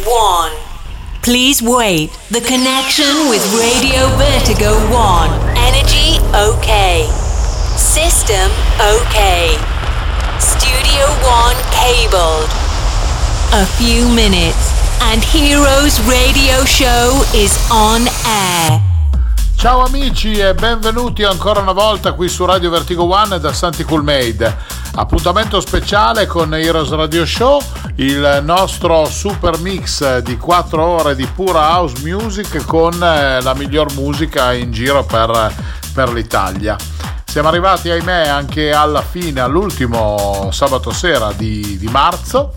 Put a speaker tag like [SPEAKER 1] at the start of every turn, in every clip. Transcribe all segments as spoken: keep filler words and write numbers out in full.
[SPEAKER 1] one. Please wait. The connection with Radio Vertigo one. Energy okay. System okay. Studio one cabled. A few minutes and Heroes Radio Show is on air.
[SPEAKER 2] Ciao amici e benvenuti ancora una volta qui su Radio Vertigo One da Santi Coolmade. Appuntamento speciale con Heroes Radio Show, il nostro super mix di quattro ore di pura house music con la miglior musica in giro per, per l'Italia. Siamo arrivati, ahimè, anche alla fine, all'ultimo sabato sera di, di marzo,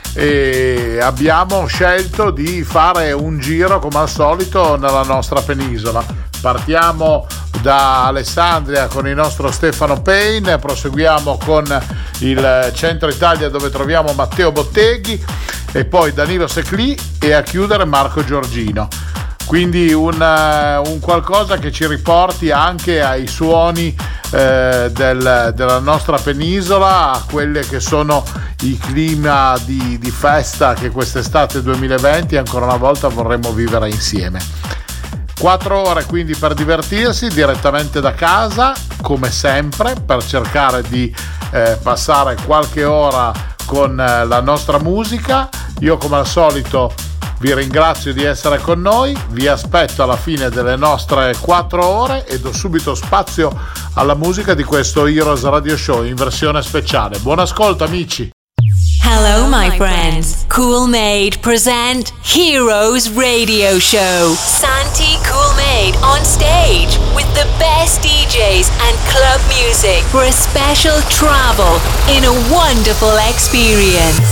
[SPEAKER 2] e abbiamo scelto di fare un giro come al solito nella nostra penisola. Partiamo da Alessandria con il nostro Stefano Payne, proseguiamo con il centro Italia dove troviamo Matteo Botteghi e poi Danilo Seclì e a chiudere Marco Giorgino. Quindi un, un qualcosa che ci riporti anche ai suoni eh, del, della nostra penisola, a quelle che sono i clima di, di festa che quest'estate duemilaventi ancora una volta vorremmo vivere insieme. Quattro ore quindi per divertirsi direttamente da casa, come sempre, per cercare di eh, passare qualche ora con eh, la nostra musica. Io come al solito vi ringrazio di essere con noi, vi aspetto alla fine delle nostre quattro ore e do subito spazio alla musica di questo Heroes Radio Show in versione speciale. Buon ascolto amici!
[SPEAKER 1] Hello, my friends. Coolmade present Heroes Radio Show. Santi Coolmade on stage with the best D Js and club music for a special travel in a wonderful experience.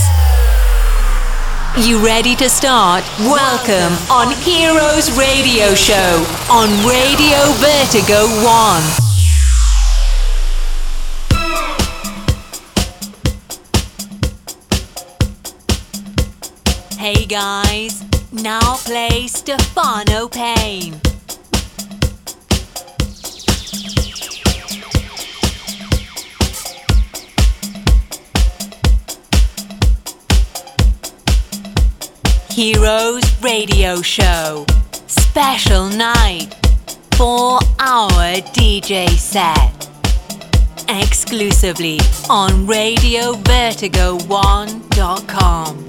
[SPEAKER 1] You ready to start? Welcome on Heroes Radio Show on Radio Vertigo one. Hey guys, now play Stefano Payne. Heroes Radio Show. Special night. four hour D J set. Exclusively on radio vertigo one dot com.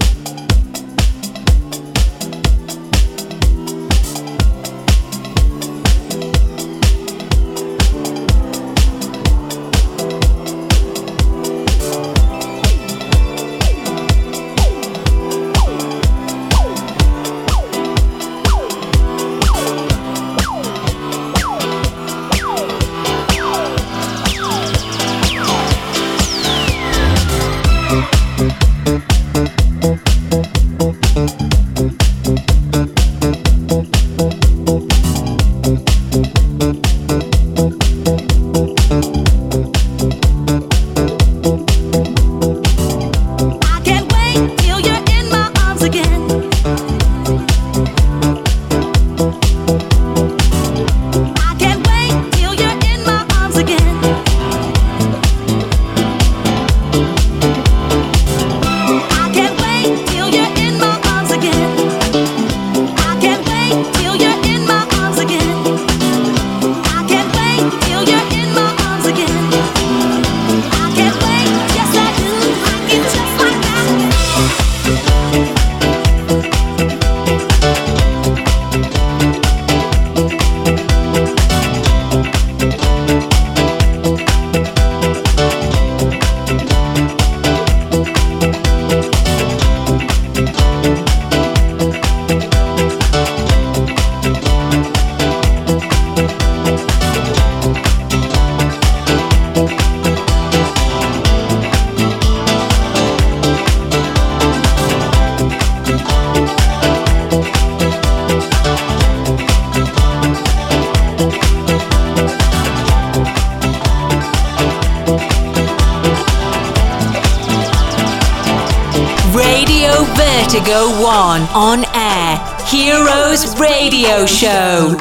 [SPEAKER 1] Vertigo one on air. Heroes Radio Show.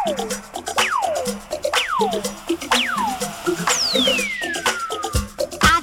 [SPEAKER 3] I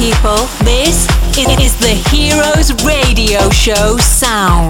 [SPEAKER 1] people. This is the Heroes Radio Show sound.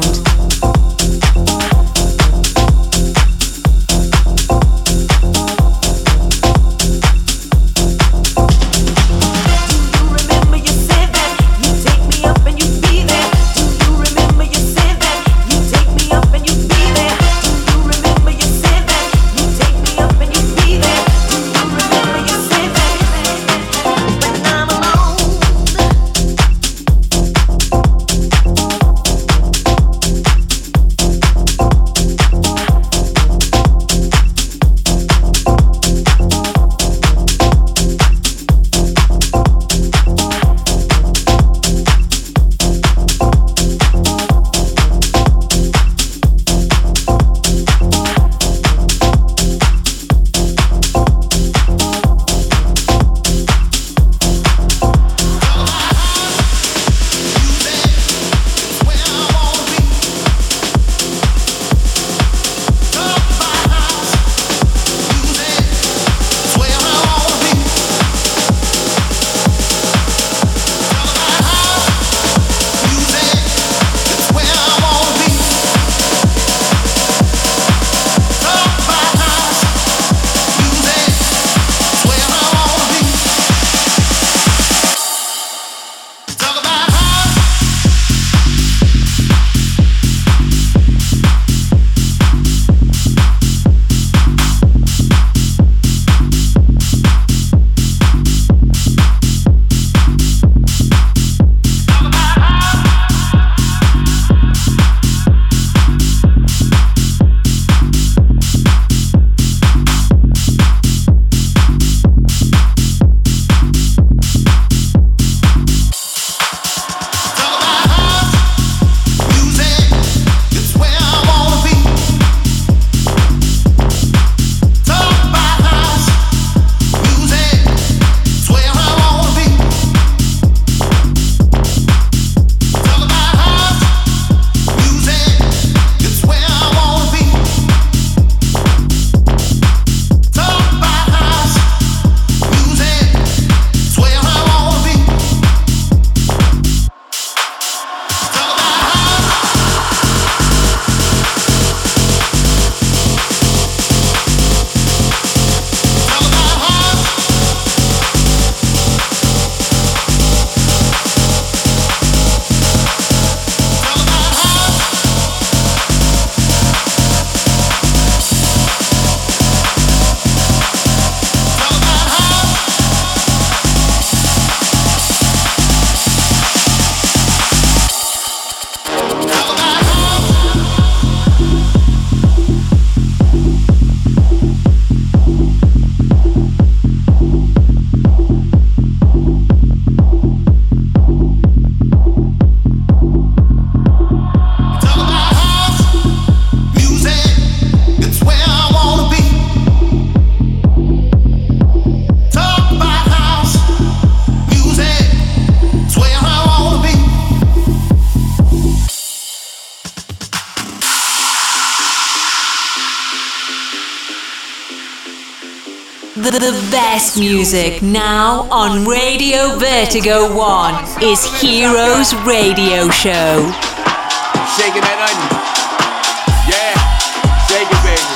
[SPEAKER 1] The best music now on Radio Vertigo One is Heroes Radio Show.
[SPEAKER 3] Shaking that onion. Yeah, shake it, baby.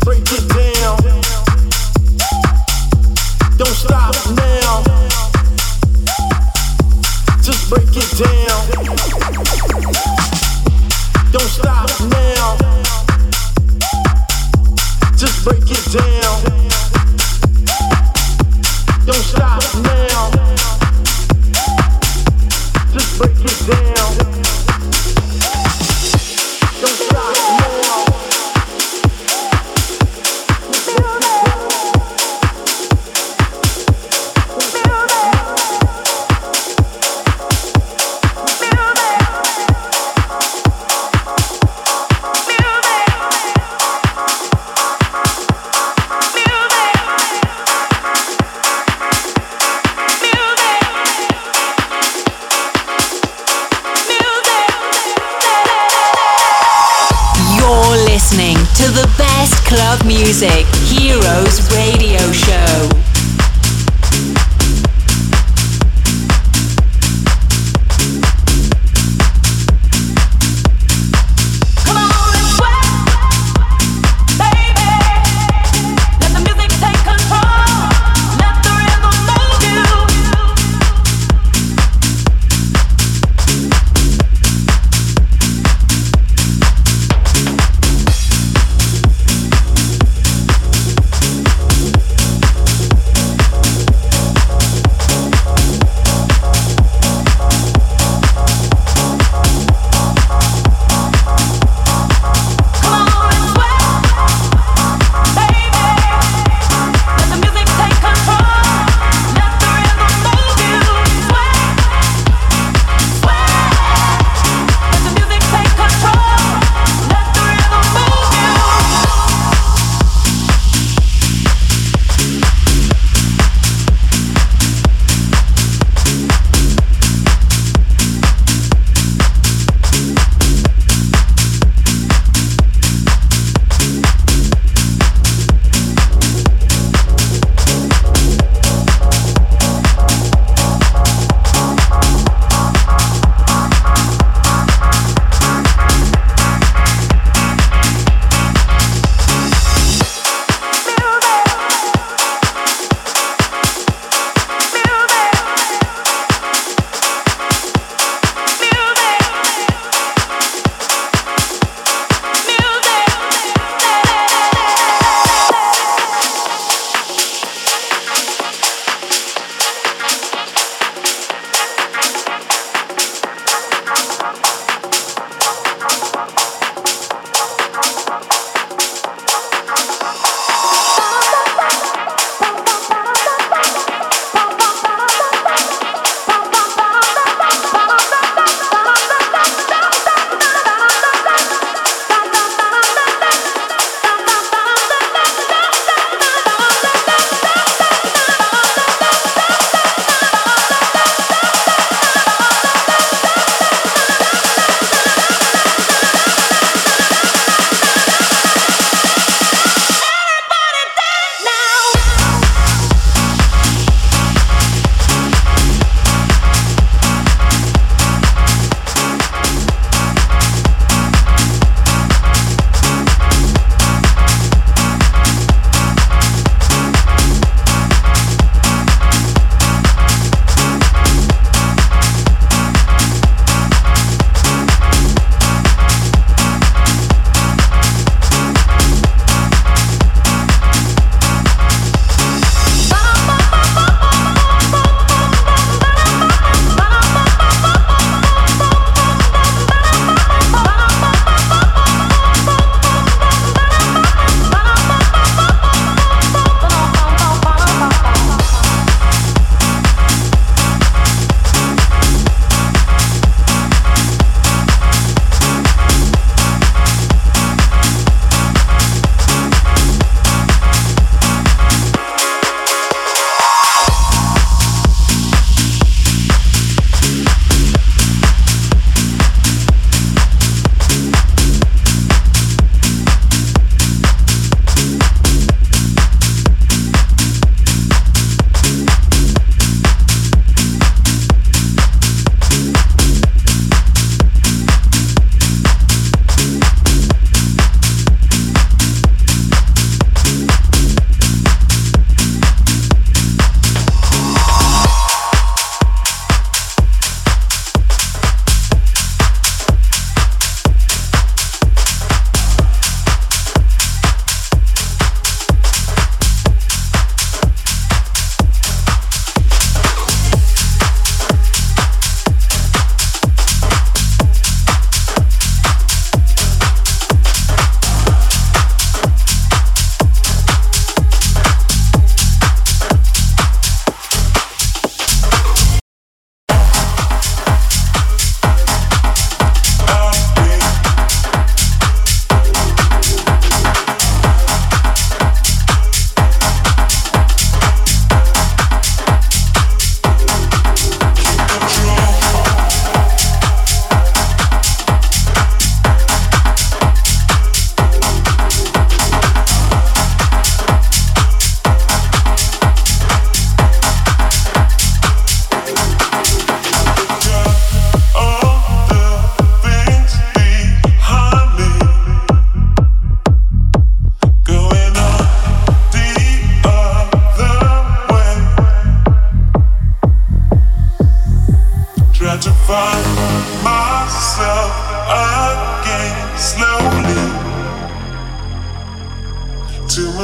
[SPEAKER 4] break it down. Don't stop now. Just break it down. Don't stop now. Just break it down. Don't stop now. Just break it down. Don't stop now.
[SPEAKER 1] Listening to the best club music, Heroes Radio Show.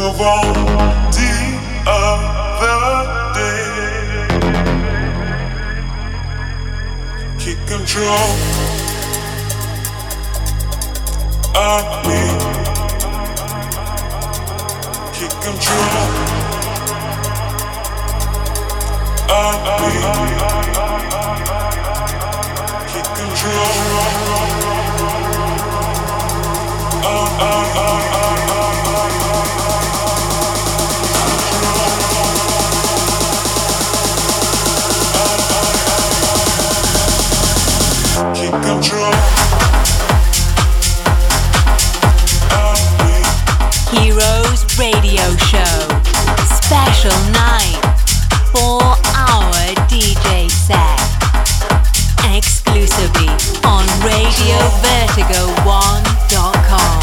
[SPEAKER 5] move on the other day. Keep control of me. Keep control of me. Keep control of me. Keep control.
[SPEAKER 1] Heroes Radio Show. Special night. Four hour D J set. Exclusively on radio vertigo one dot com.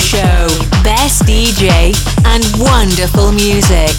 [SPEAKER 1] Show. Best D J and wonderful music.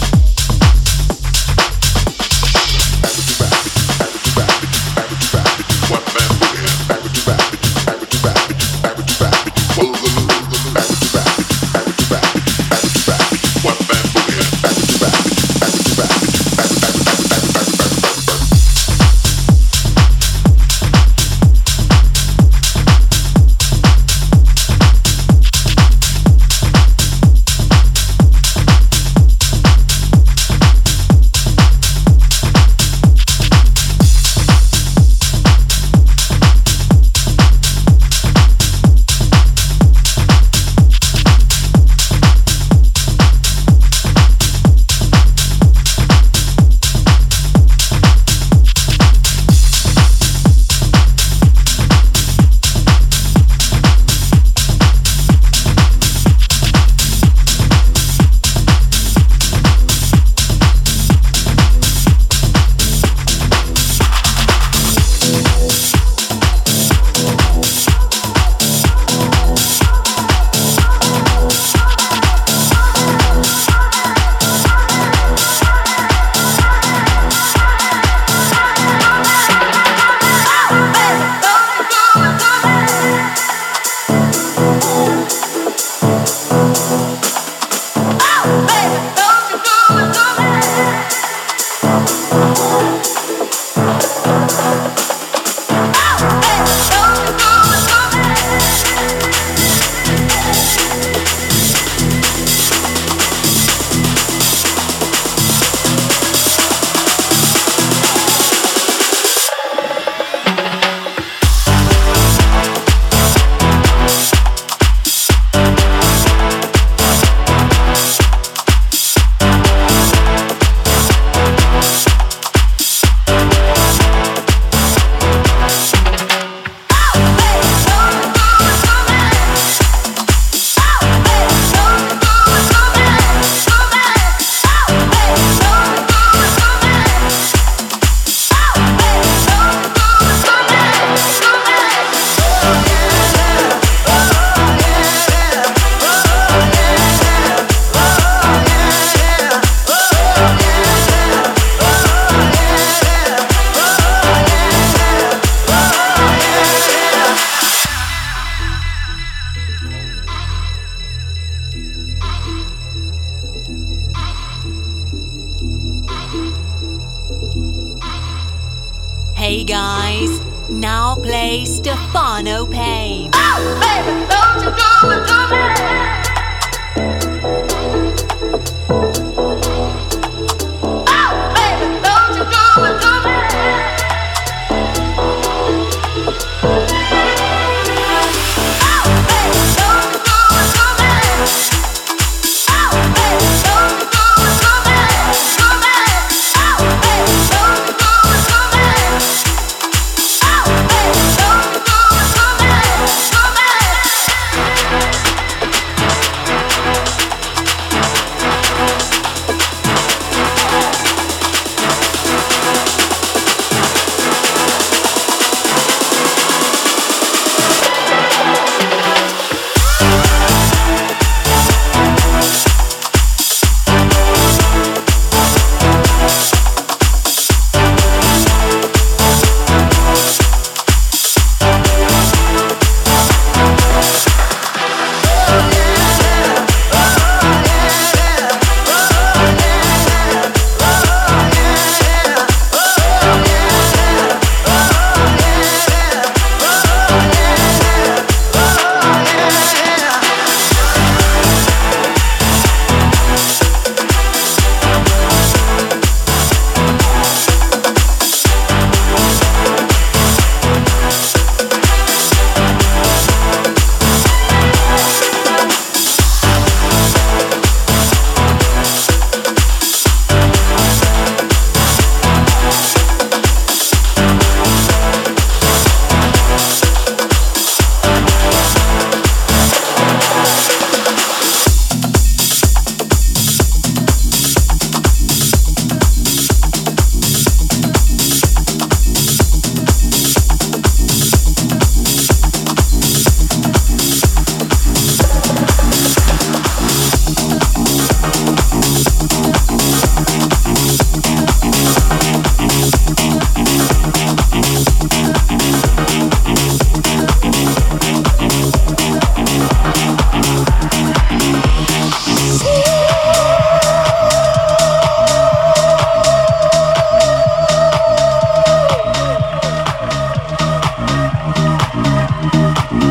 [SPEAKER 1] Hey guys, now play Stefano Payne.
[SPEAKER 6] Oh, baby, don't you do it to me. Oh, baby, don't you do it to me. Oh, baby, don't you do it to me. Oh, baby, don't you do it to me. To me. Oh, baby, don't you do it to me. Oh, baby, don't you do it to me. To me.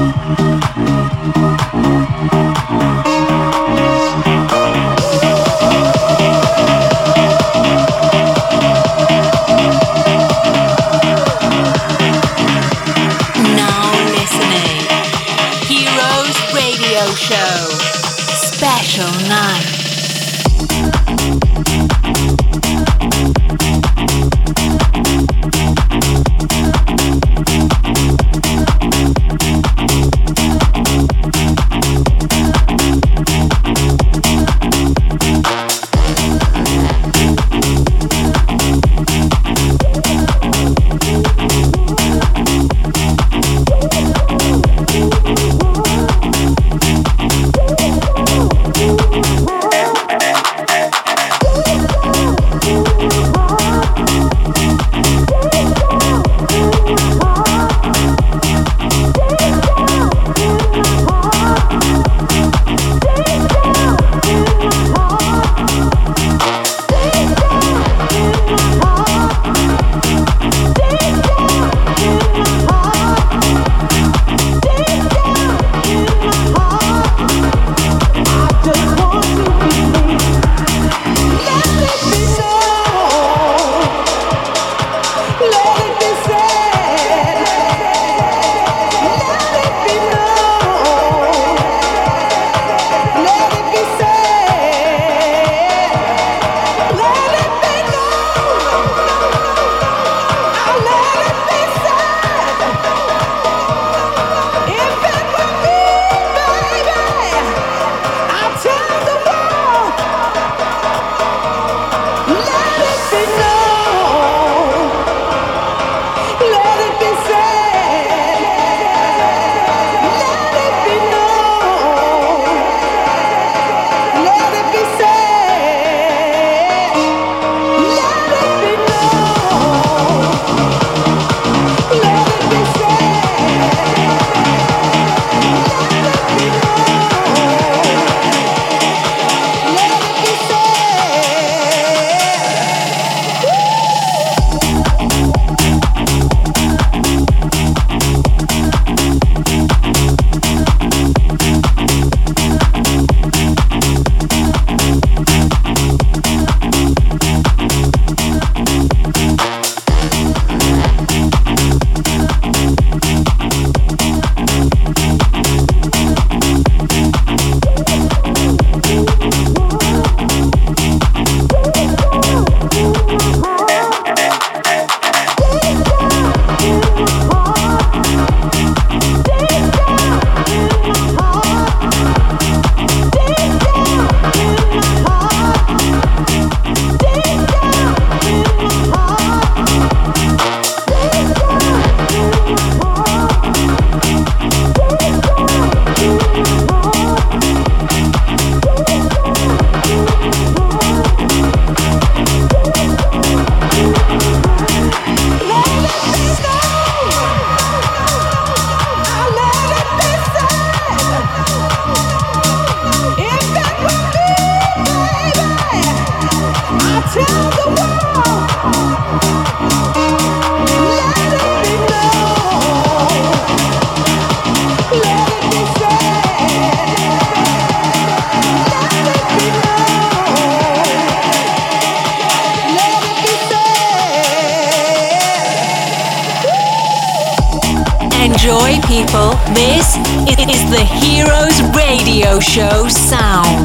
[SPEAKER 1] Enjoy, people. This is the Heroes Radio Show sound.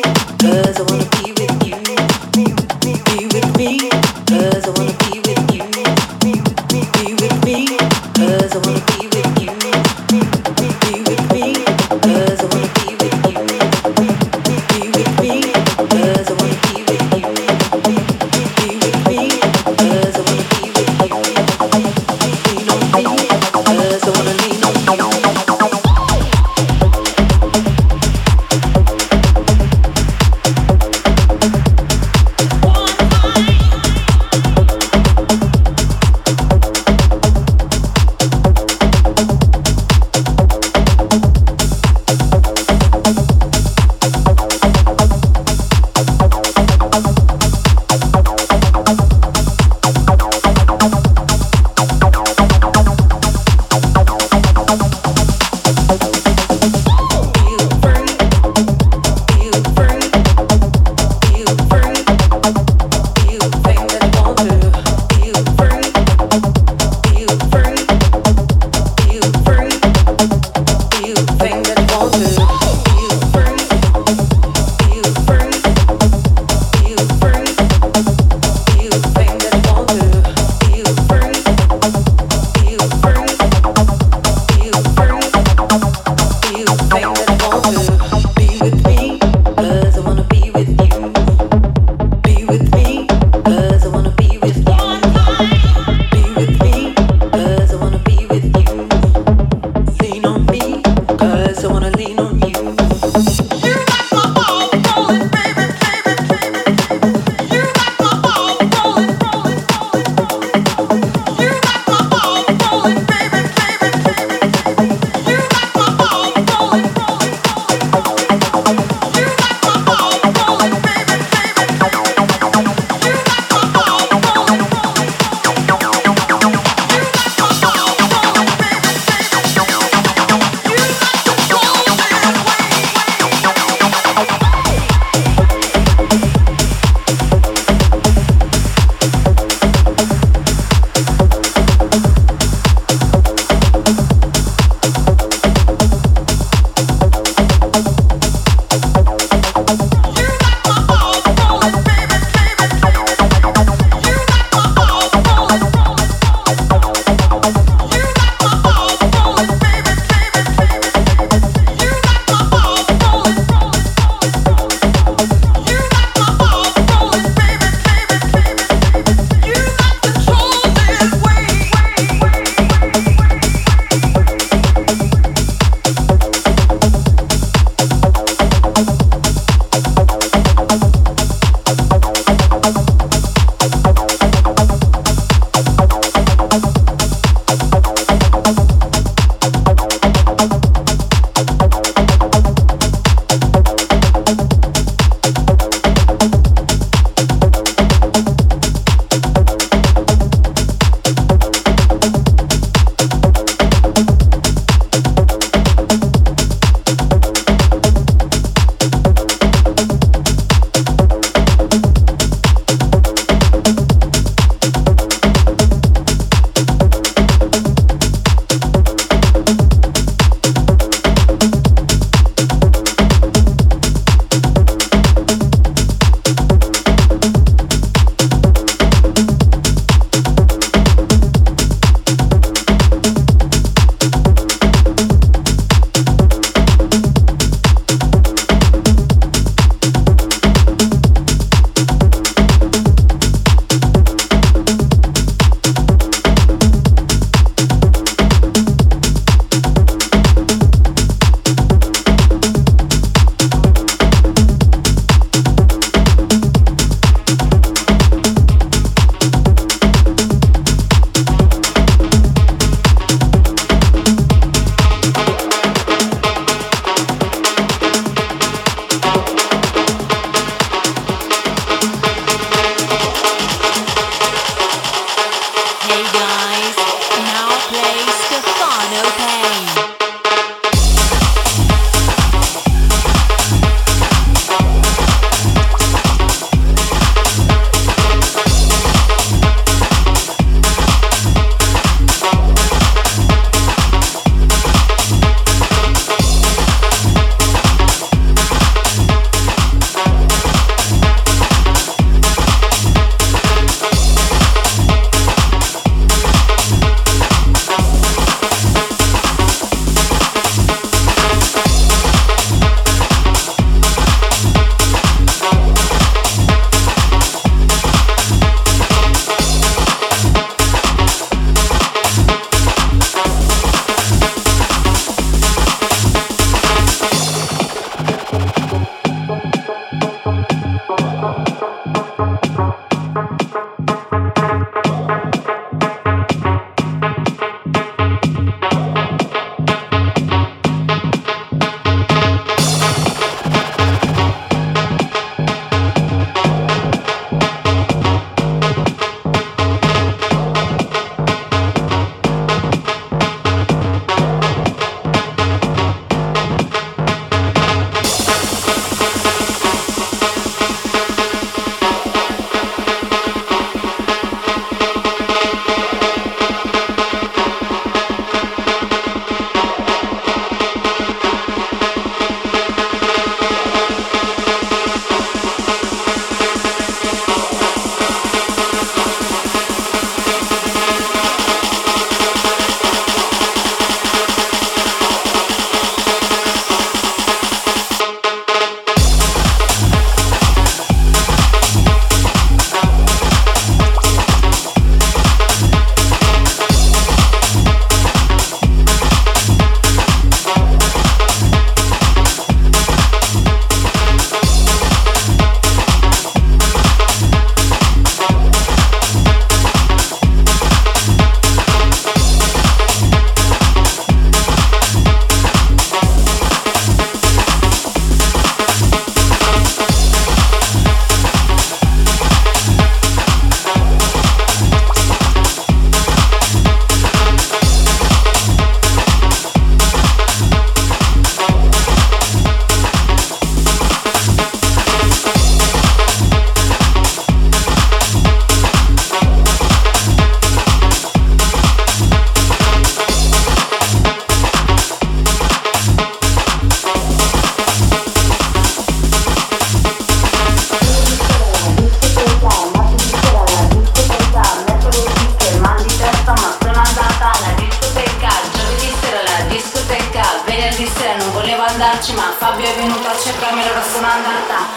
[SPEAKER 6] Cause I wanna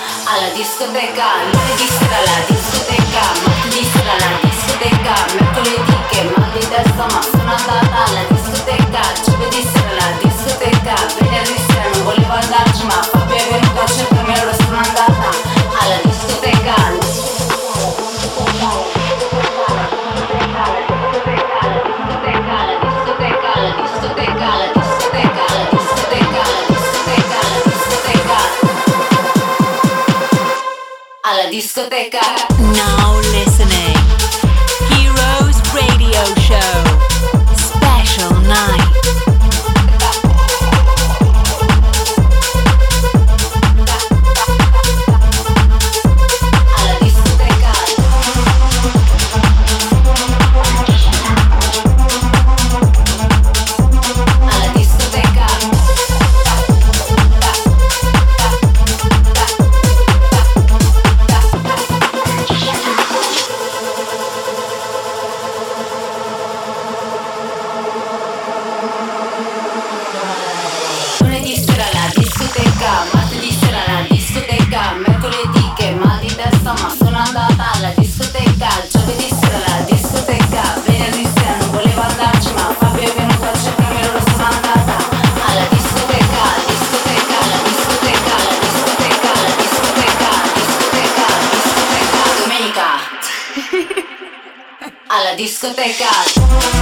[SPEAKER 7] alla discoteca, lunedì sera alla discoteca, martedì sera alla discoteca, mercoledì che mal di testa ma sono andata alla discoteca, giovedì sera alla discoteca, venerdì sera non volevo andarci ma Fabio è venuto a cercarmi e allora sono andata alla discoteca. Alla discoteca.
[SPEAKER 1] Now listening. Heroes Radio Show. Special night.
[SPEAKER 7] Alla discoteca. Alla discoteca. Lunedì sera alla discoteca, martedì sera alla discoteca, mercoledì che mal di testa ma sono andata alla discoteca, giovedì sera alla discoteca, venerdì sera non volevo andarci ma Fabio è venuto a cercarmi e allora sono andata alla discoteca, discoteca, alla discoteca, alla discoteca, alla discoteca, discoteca, discoteca, domenica alla discoteca.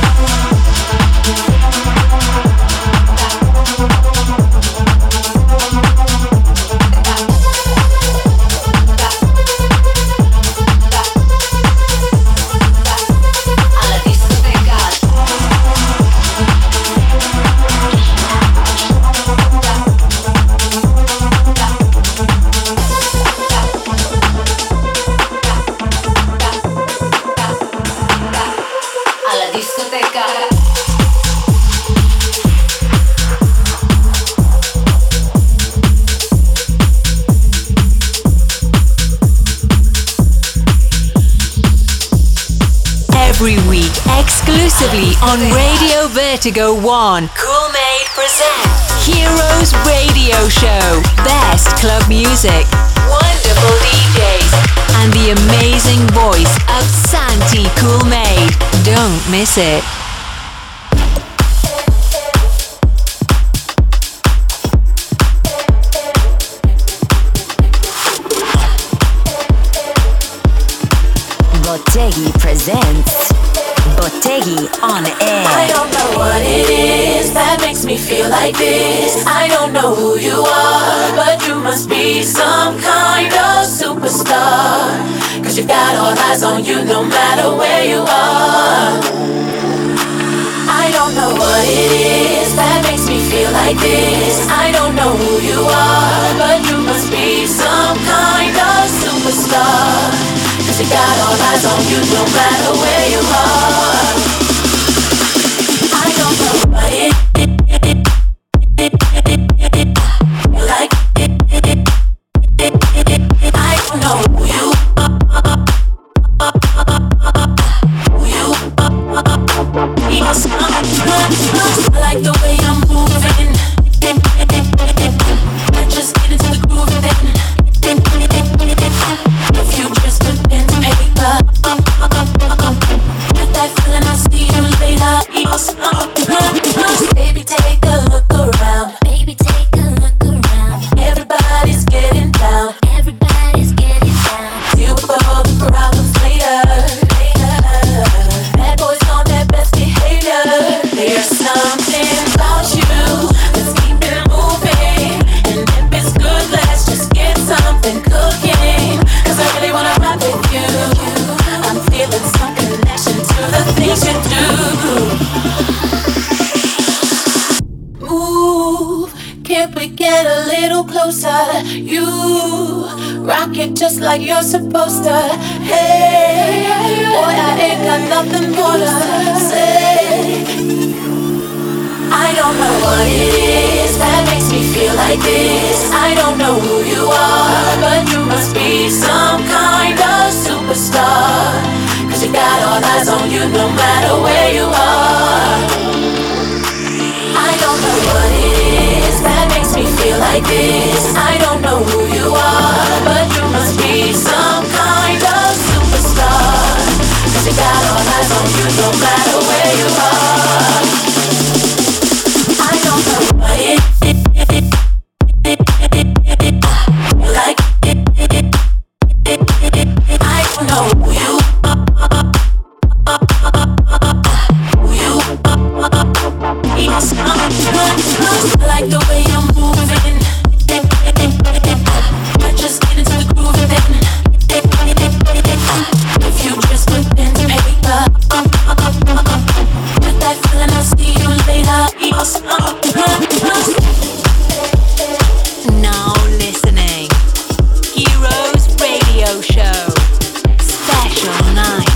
[SPEAKER 7] Alla discoteca.
[SPEAKER 1] Every week, exclusively on Radio Vertigo One, Cool Made presents Heroes Radio Show. Best club music, wonderful D Js, and the amazing voice of Santi Cool Made. Don't miss it.
[SPEAKER 8] Botteghi presents Botteghi on air.
[SPEAKER 9] I don't know what it is that makes me feel like this. I don't know who you are, but you must be some kind of superstar. Cause you've got all eyes on you no matter where you are. I don't know what it is that makes me feel like this. I don't know who you are, but you must be some kind of superstar. Cause you got all eyes on you no matter where you are. I don't know what it is like. I don't know who you are. Who you are. Yes, I like the way I'm moving. I just get into the groove and then if you just a pen and paper, get that feeling, I'll see you later. Baby, take a look around. Baby, take a look around. Everybody's getting down. Everybody's getting down. Deal with all the problems later. Later. Bad boys on their best behavior. There's something about you that's keep it moving. And if it's good, let's just get something cooking. Cause I really wanna ride with you. I'm feeling some connection to the things you do. Move, can't we get a little closer? You rock it just like you're supposed to. Hey, boy, I ain't got nothing more to say. I don't know what it is that makes me feel like this. I don't know who you are, but you must be some kind of superstar. Cause you got all eyes on you no matter where you are. I don't know what it is that makes me feel like this. I don't know who you are, but
[SPEAKER 1] Radio Show. Special night.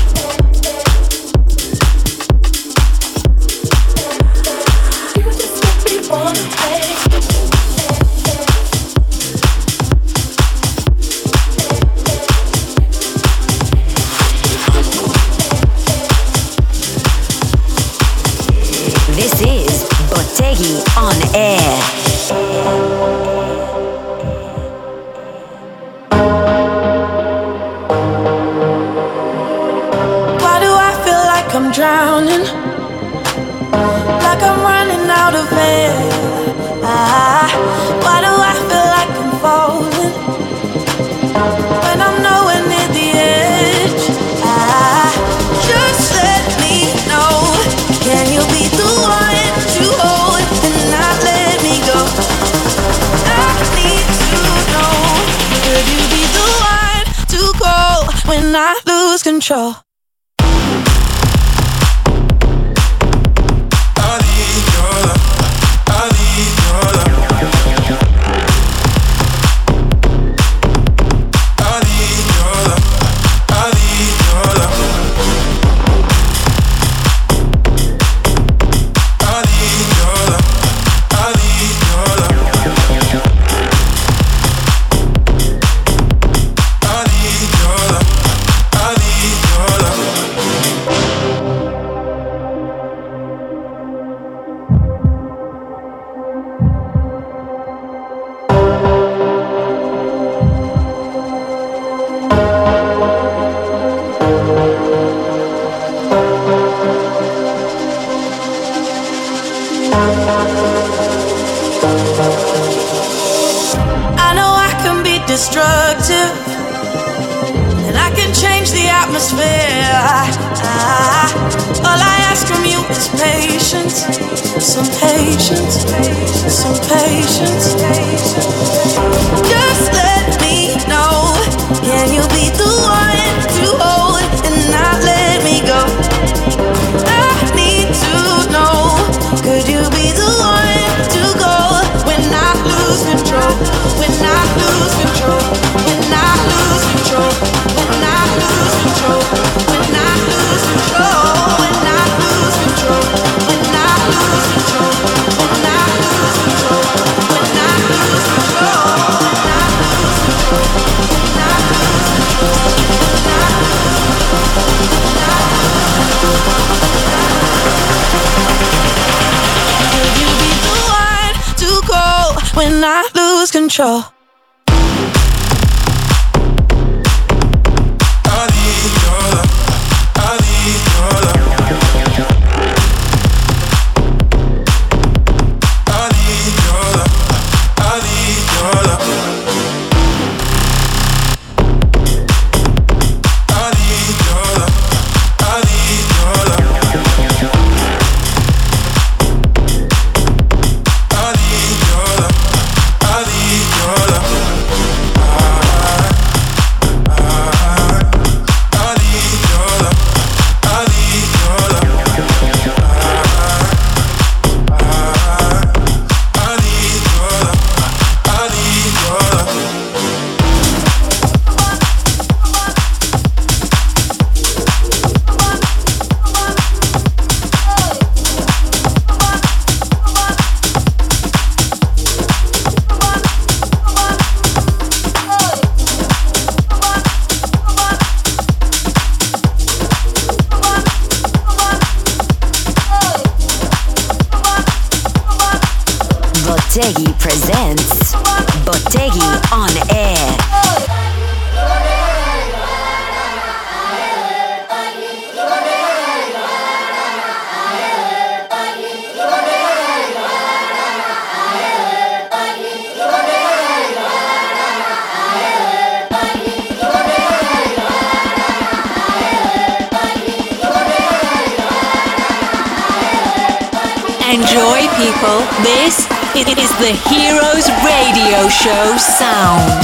[SPEAKER 8] This is Botteghi on air.
[SPEAKER 9] Why do I feel like I'm drowning? Like I'm running out of air. Ah, why do I feel like I'm falling when I'm nowhere near the edge? Ah, just let me know. Can you be the one to hold and not let me go? I need to know. Could you be the one to call when I lose control? I know I can be destructive, and I can change the atmosphere. Ah, all I ask from you is patience, some patience, some patience. Just let me know. Can you be the one to hold and not let me go? I need to know. Could you be the one to go when I lose control? When I lose control? When I lose control? When I lose control? When I lose control? When I lose control? When I lose control? When I lose control? When I lose control? When I lose control? When I lose control? When I Could you be the one to call when I lose control?
[SPEAKER 8] Botteghi presents Botteghi on air.
[SPEAKER 1] Enjoy, people. This it is the Heroes Radio Show sound.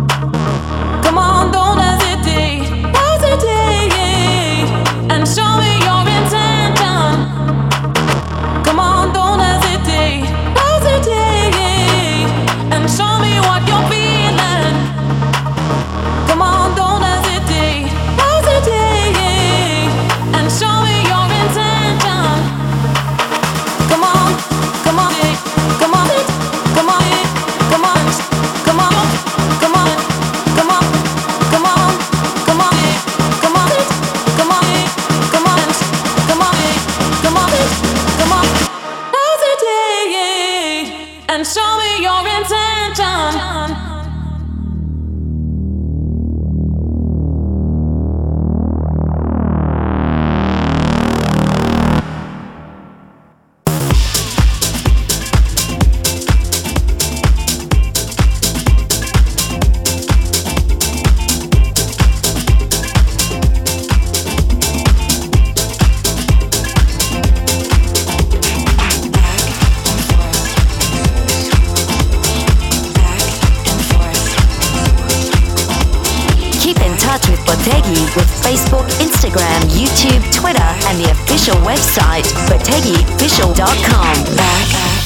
[SPEAKER 8] with Facebook, Instagram, YouTube, Twitter, and the official website, botteghi official dot com. Back.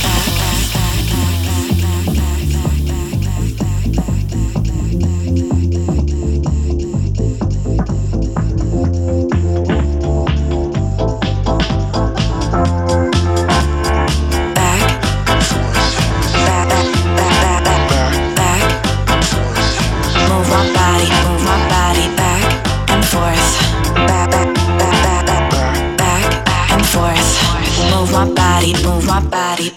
[SPEAKER 8] Move my body.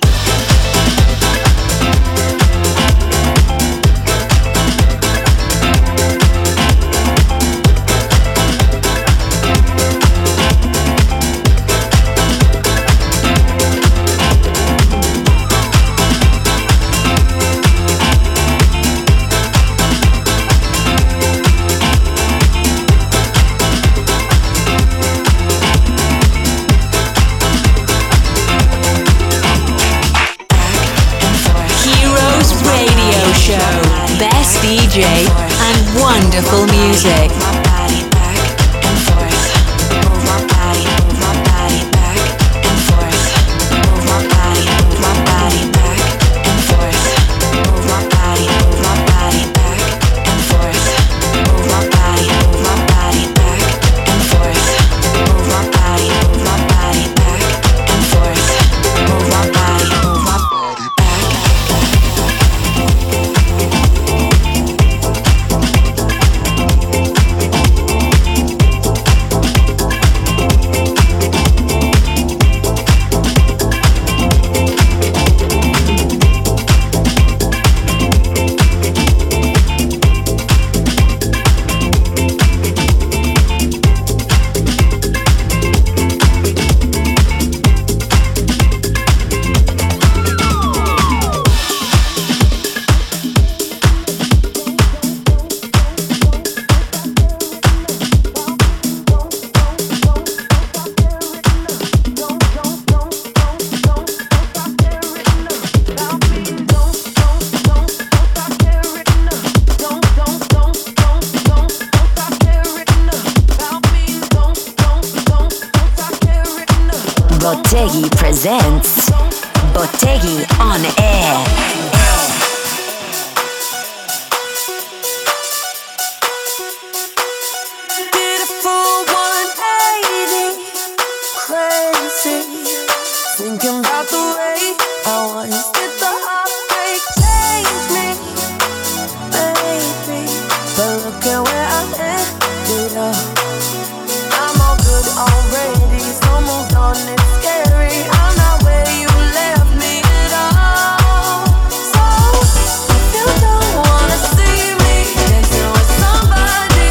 [SPEAKER 1] Best D J and wonderful music.
[SPEAKER 8] Botteghi presents Botteghi on Air.
[SPEAKER 6] Did a full one eighty, crazy, thinking about the way I once did. The heartbreak change me, baby, but look at where I ended up. I'm all good already, so moved on, it's scary. I'm not where you left me at all. So if you don't wanna see me dancing with somebody,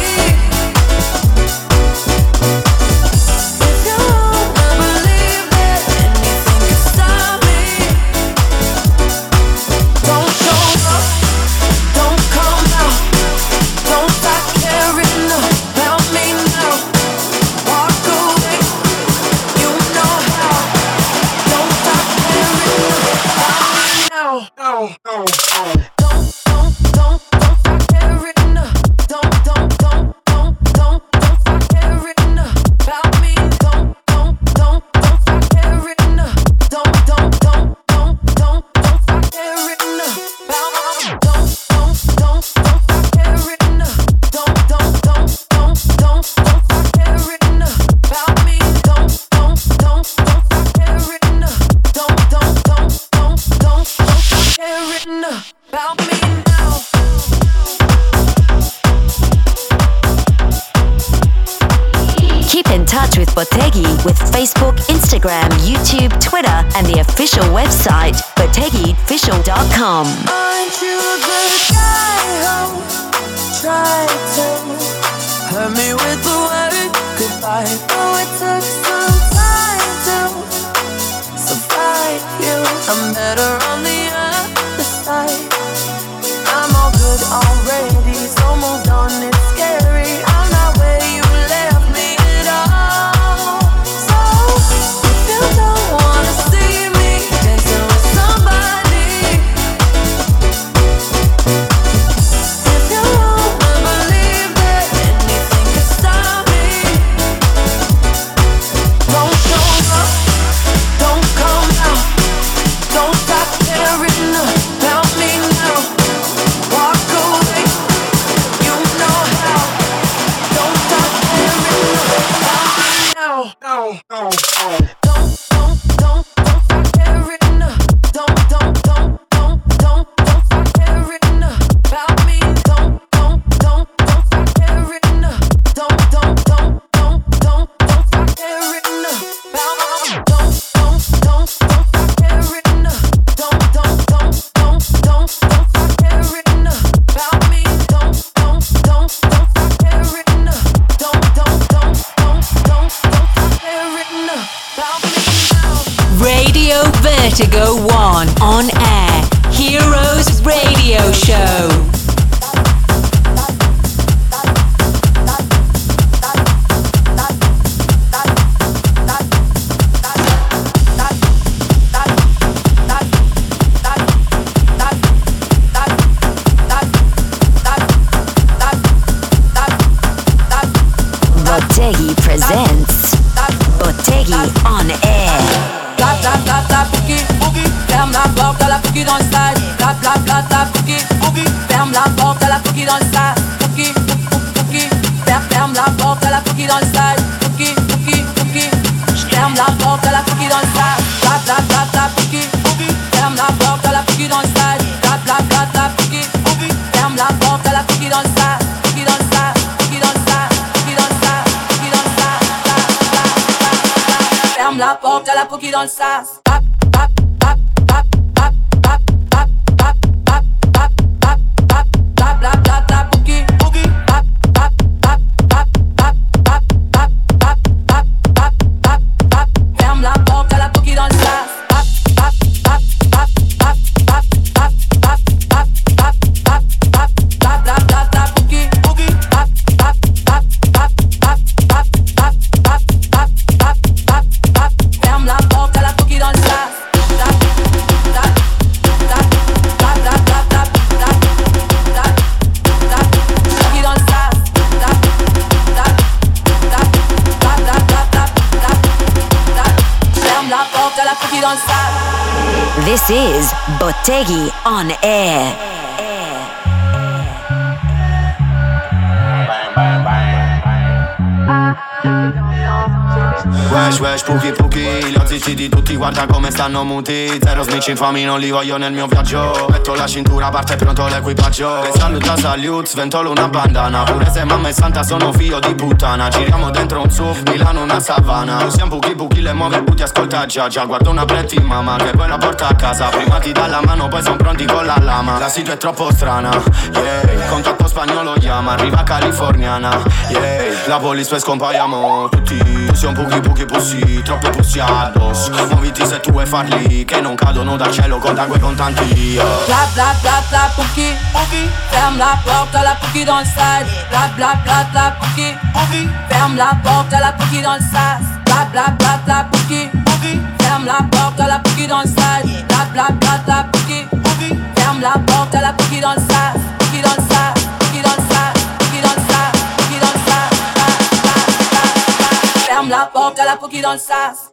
[SPEAKER 6] if you wanna believe that anything can stop me, don't show up, don't come out, don't stop caring about me now. Walk away, you know how. Don't stop caring about me now. No, no, no. Don't, don't, don't, don't stop caring. Don't, don't, don't, don't, don't, don't stop caring about me. Don't, don't, don't, don't stop caring. Don't, don't, don't, don't, don't, don't stop caring about me. Don't, don't, don't, don't stop caring. Don't, don't, don't, don't, don't, don't stop caring about me. Don't, don't, don't, don't stop caring. Don't, don't, don't, don't, don't, don't stop caring about me now.
[SPEAKER 8] Keep in touch with Botteghi with Facebook, Instagram, YouTube, Twitter, and the official website, botteghi official dot com.
[SPEAKER 6] Aren't you the guy who tried to hurt me with the word goodbye? Oh, it took some time to survive you. I'm better on the other side. I'm all good already, so moved on, it's scary. I'm not where you left me at all. So if you don't wanna see me dancing with somebody, if you wanna believe that anything can stop
[SPEAKER 1] Vertigo One on air. Heroes Radio Show.
[SPEAKER 8] Botteghi presents Botteghi on air.
[SPEAKER 10] Bla bla bla bla boogie, boogie. Ferme la porte à la boogie dans le stade. Bla bla bla bla boogie, boogie. Ferme la porte à la boogie dans le stade. Boogie, boogie. Ferme la porte à la boogie dans le stade. Boogie, boogie, boogie. Ferme la porte à la boogie dans le stade. Bla bla bla bla boogie, boogie. Ferme la porte à la boogie dans le stade. Bla bla bla bla boogie, boogie. Ferme la porte à la boogie dans le stade. Boogie dans le stade. Boogie dans le stade. Boogie dans le stade. Boogie dans le stade. Ferme la porte à la boogie dans le sas.
[SPEAKER 8] This is Botteghi on air.
[SPEAKER 11] Wesh wesh puki puki, li ho zitti di tutti, guarda come stanno muti. Zero snitch infami, non li voglio nel mio viaggio. Metto la cintura, parte pronto l'equipaggio. E saluta salute, sventolo una bandana. Pure se mamma è santa sono figlio di puttana. Giriamo dentro un S U V, Milano una savana. Usiamo puki puki, le muove puti, ascolta già già. Guardo una pretty mamma che poi la porta a casa. Prima ti dà la mano, poi son pronti con la lama. La situa è troppo strana, yeah. Contatto spagnolo chiama, arriva californiana, yeah. La police poi scompaiamo tutti. Siamo puki puki pussi, troppe pussi addosso. Muoviti se tu vuoi farli, che non cadono dal cielo con quei contanti, yeah.
[SPEAKER 10] Bla bla bla bla puki, puki. Ferme la porte à la puki dans le stade. Bla bla bla bla puki, puki. Ferme la porte à la puki dans le sas. Bla bla bla bla puki, puki. Ferme la porte à la puki dans le stade. Bla bla bla bla puki, puki. Ferme la porte à la puki dans le sas. Puki dans le sas, puki dans le sas, puki dans le sas, puki dans le sas. Ferme la porte à la puki dans le sas.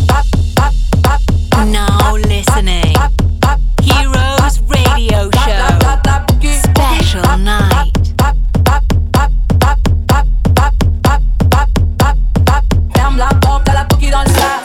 [SPEAKER 1] Now listening. Heroes Radio Show. Special night.
[SPEAKER 10] Ferme la porte à la puki dans le sas.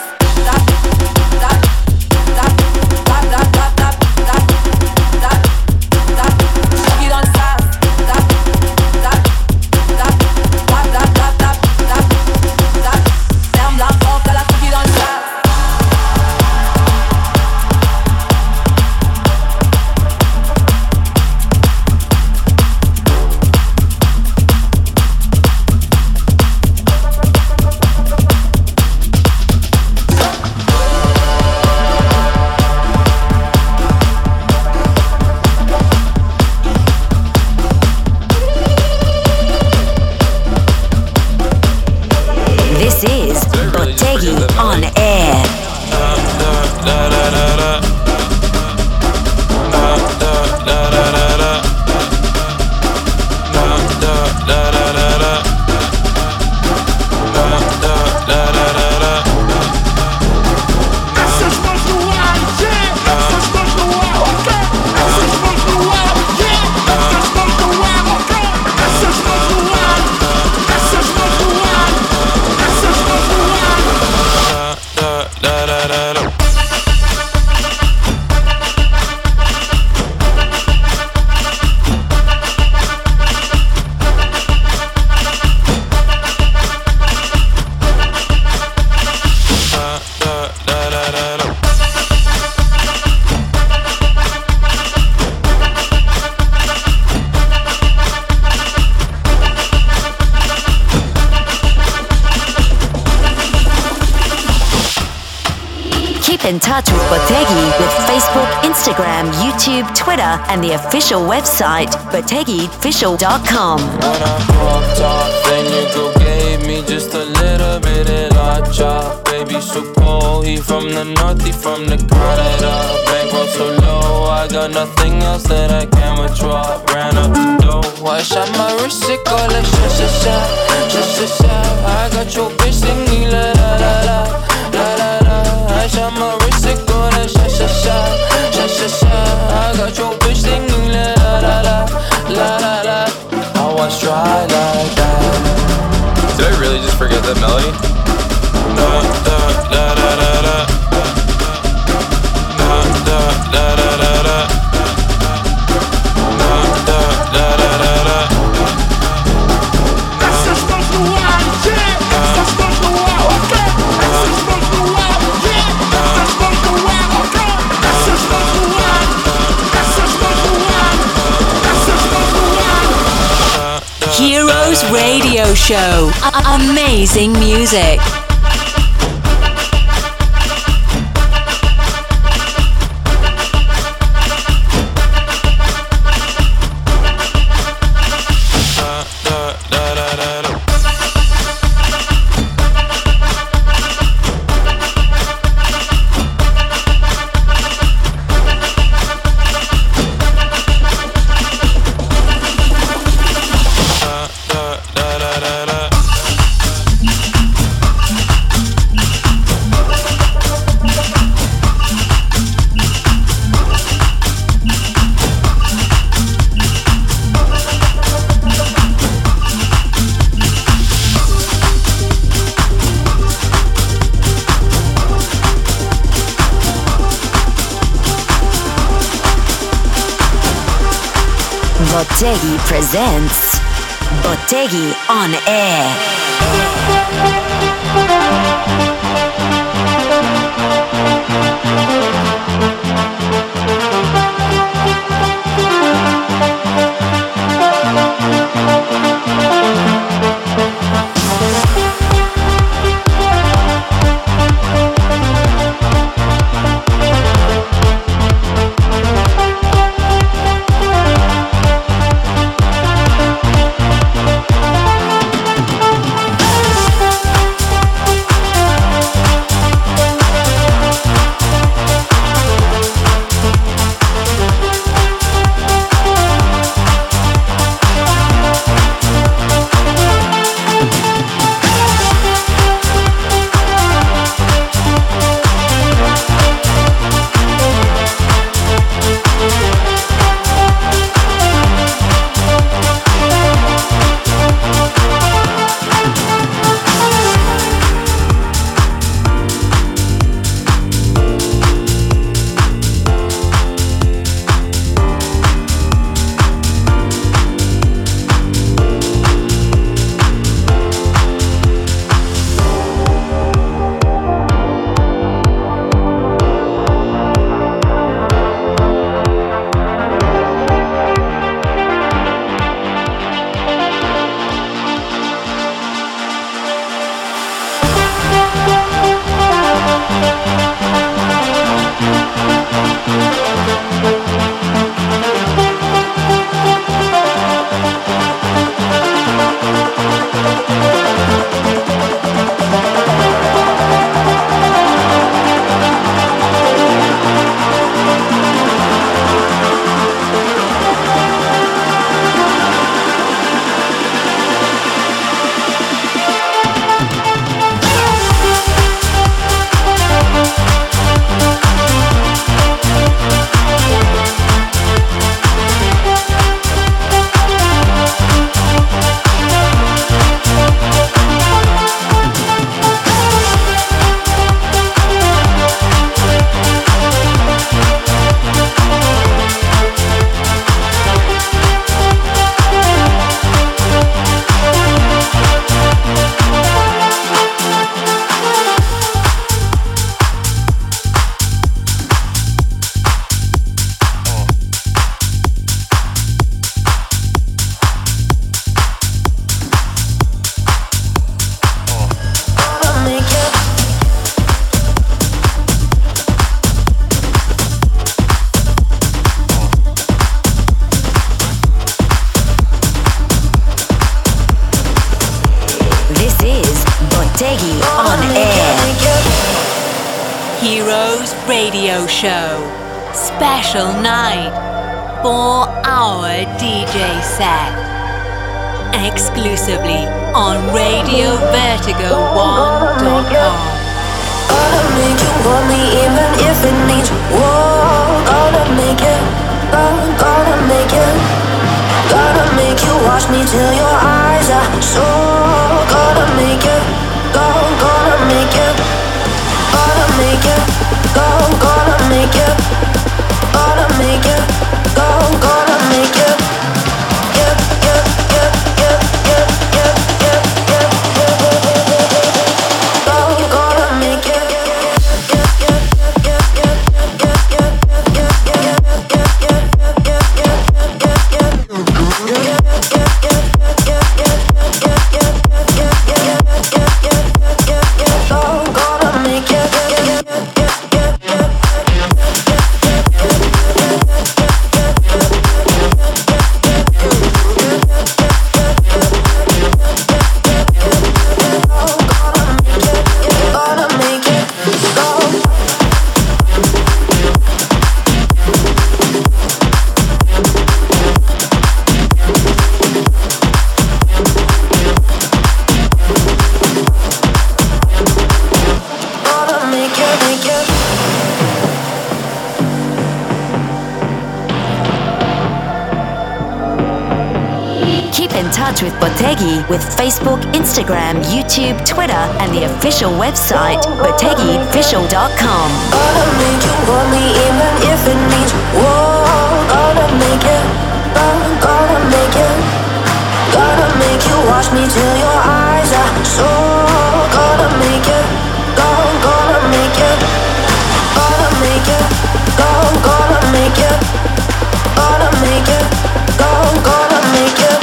[SPEAKER 8] This is Botteghi on air. in touch with Bottegi with Facebook, Instagram, YouTube, Twitter, and the official website, bottegi official dot com.
[SPEAKER 12] When I walked off, then you go gave me just a little bit of la chop. Baby, so cold, he from the north, he from the Canada. Bankroll so low, I got nothing else that I can withdraw. Ran up the dough, I shot my wrist, it go like sha sha sha, sha sha sha. I got your bitch singing la la la la, la la la. I shot my wrist, it go like sha sha sha, sha sha sha. I got your bitch singing la la la la, la la la. I was dry like that. Did I really just forget that melody? Da da da da da da. Da da da da da da. Da da da da da da.
[SPEAKER 6] Essa estás no ar, yeah. Essa estás no ar, ok. Essa estás no ar, yeah. Essa estás no ar, ok. Essa estás no ar. Essa estás no ar. Essa estás no ar.
[SPEAKER 1] Heroes Radio Show. A- amazing music.
[SPEAKER 8] Bottegi presents Bottegi on Air. on air.
[SPEAKER 1] Heroes Radio Show. Special night. Four hour D J set. Exclusively on Radio Vertigo one dot com.
[SPEAKER 6] Gonna make you want me even if it means whoa. Gonna make it, gonna, gonna make it. Gonna make you watch me till your eyes are so. Gonna make it, go, gonna make it. Gonna make it, go, gonna make it. Gonna make it, go, gonna make it. Yeah, yeah, yeah, yeah, yeah, yeah, yeah, yeah, yeah. Go, gonna make it.
[SPEAKER 8] With Bottegi with Facebook, Instagram, YouTube, Twitter, and the official website, Bottegi Official dot com.
[SPEAKER 6] Gonna make you want me even if it means whoa. Gonna make it, gonna, gonna make it. Gonna make you watch me till your eyes are so. Gonna make it, go, gonna make it. Gonna make it, go, gonna make it. Gonna make it, go, gonna make it.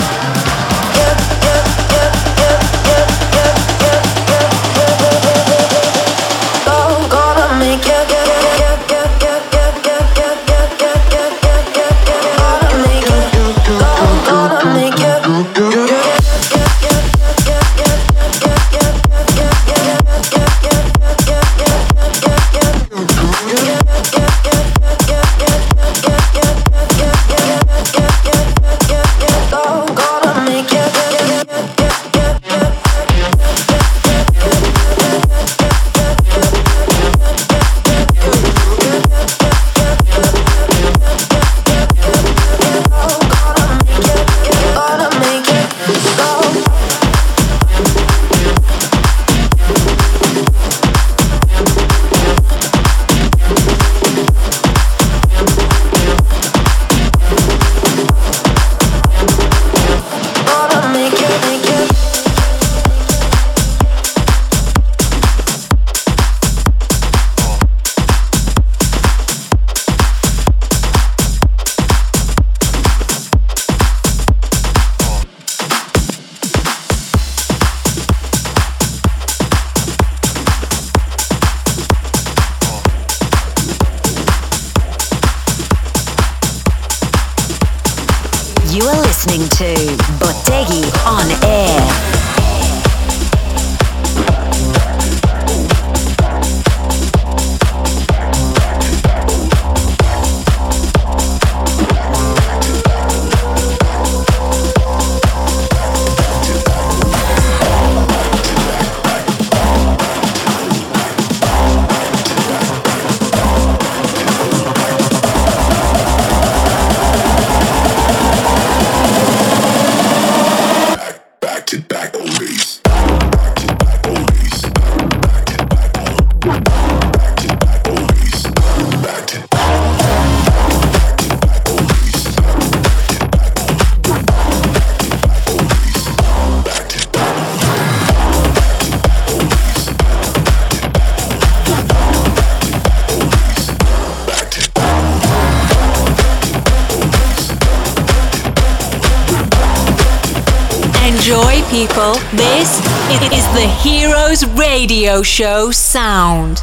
[SPEAKER 8] You are listening to Bottegi on air.
[SPEAKER 1] Enjoy, people. This is the Heroes Radio Show sound.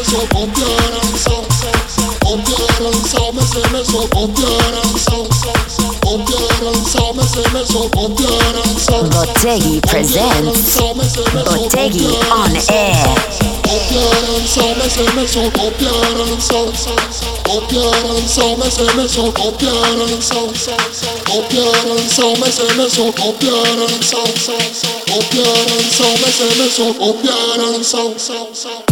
[SPEAKER 13] so, compiere, so, so, so, compiere, so, me se me so, compiere, so, so, so, compiere, so, me se me so, compiere, so.
[SPEAKER 8] Botteghi presents Botteghi on air.
[SPEAKER 13] Compiere, so, me se me so, compiere, so, so, so, compiere, so, me se me so, compiere, so, so, so, compiere, so, me se me so, compiere, so, so, so, compiere, so, me se me so, compiere, so, so, so.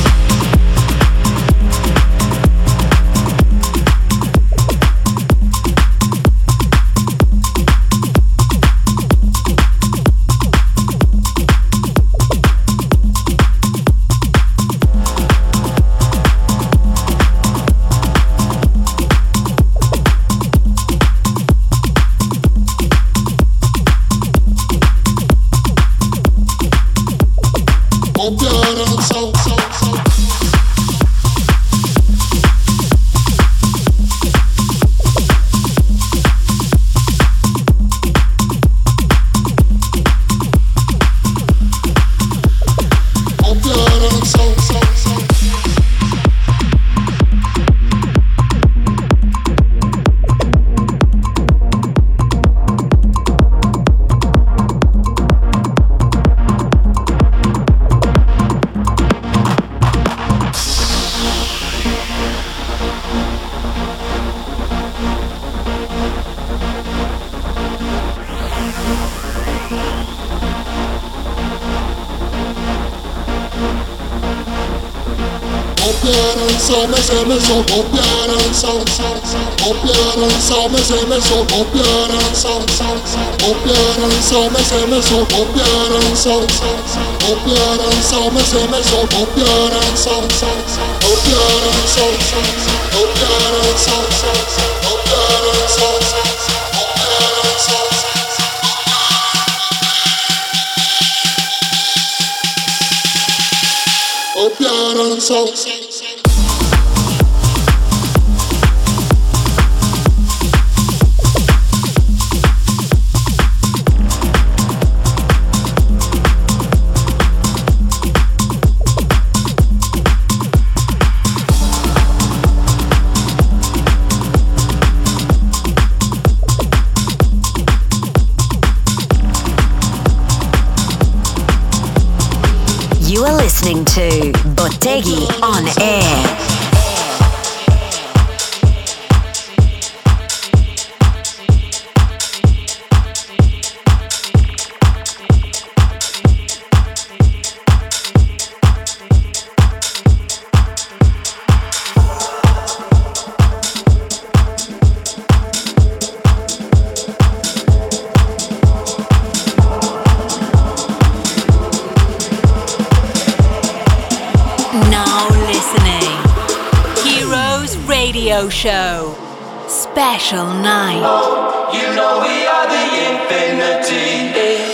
[SPEAKER 13] So me se me so compiere, so so so compiere, so me se me so compiere, so so so compiere, so me se me so compiere, so so so compiere, so me se me so compiere, so so so compiere, so so so compiere, so so so compiere, so so so compiere, so so so compiere, so so.
[SPEAKER 8] You are listening to Botteghi on air.
[SPEAKER 1] Radio show special night.
[SPEAKER 14] Oh, you know we are the infinity.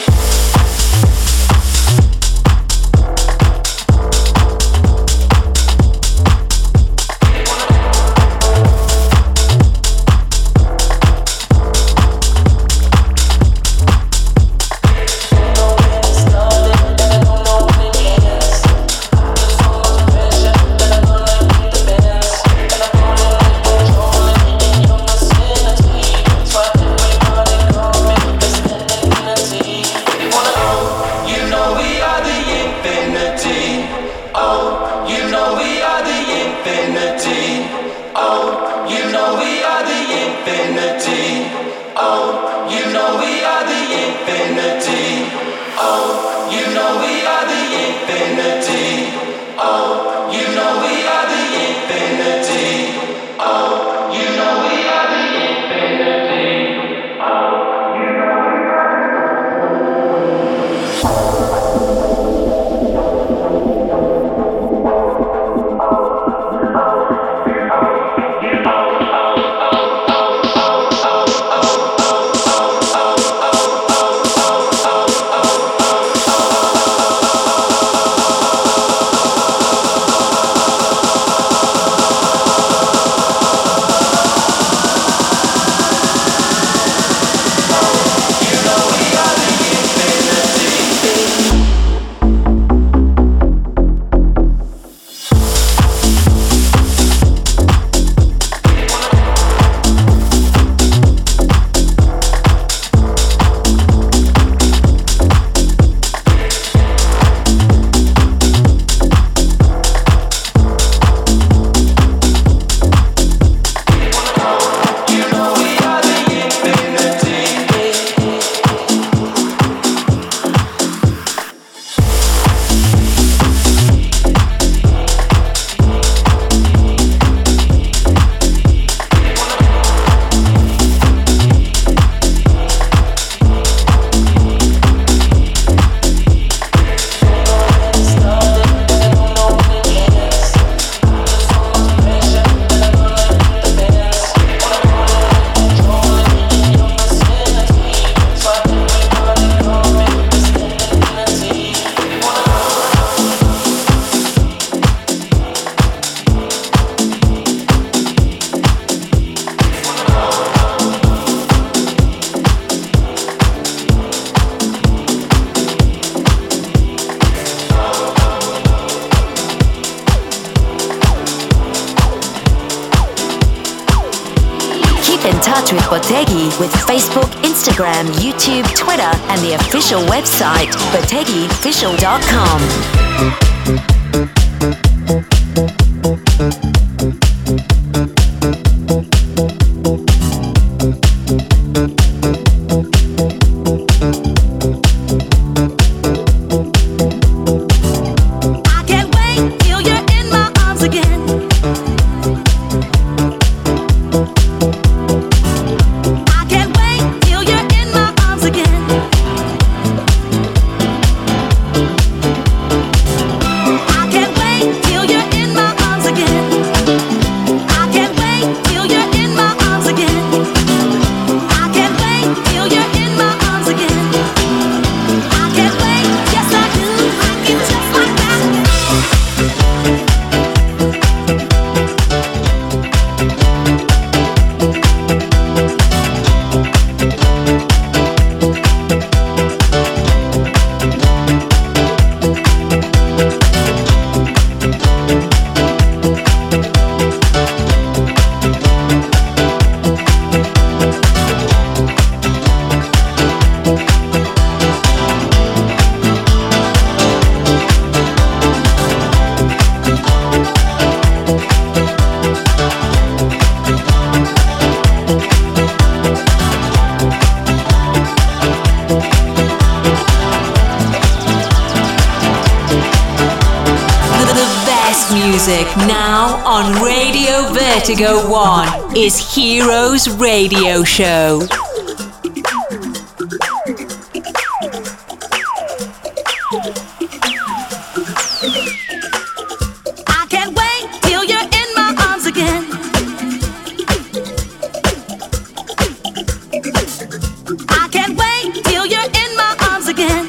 [SPEAKER 8] with Bottegi with Facebook, Instagram, YouTube, Twitter, and the official website, bottegi official dot com.
[SPEAKER 1] Now on Radio Vertigo One is Heroes Radio Show.
[SPEAKER 6] I can't wait till you're in my arms again. I can't wait till you're in my arms again.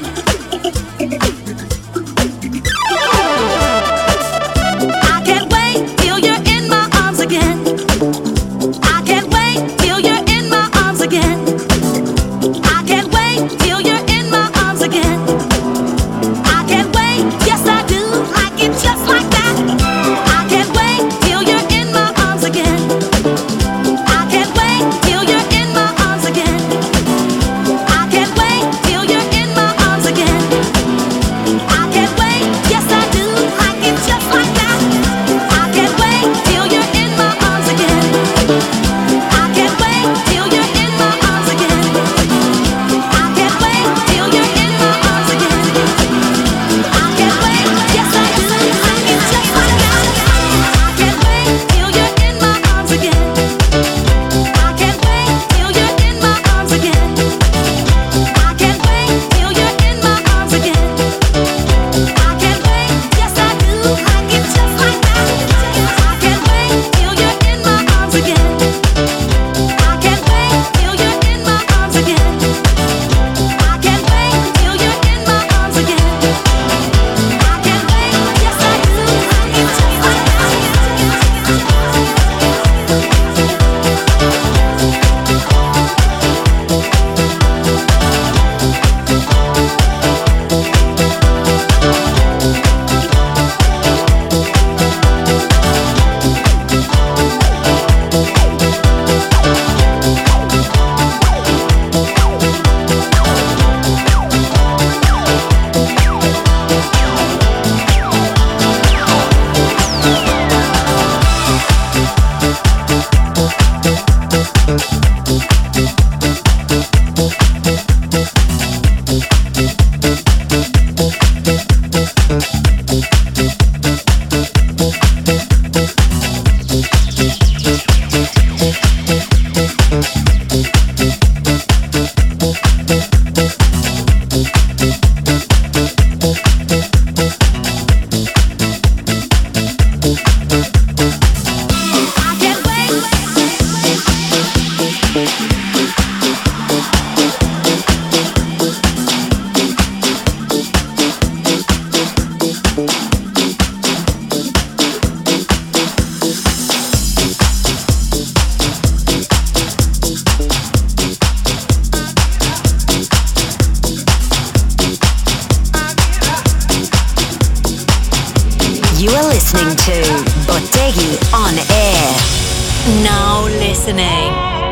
[SPEAKER 8] You are listening to Bottegi on Air.
[SPEAKER 1] Now listening,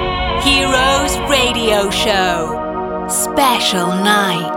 [SPEAKER 1] Heroes Radio Show. Special night.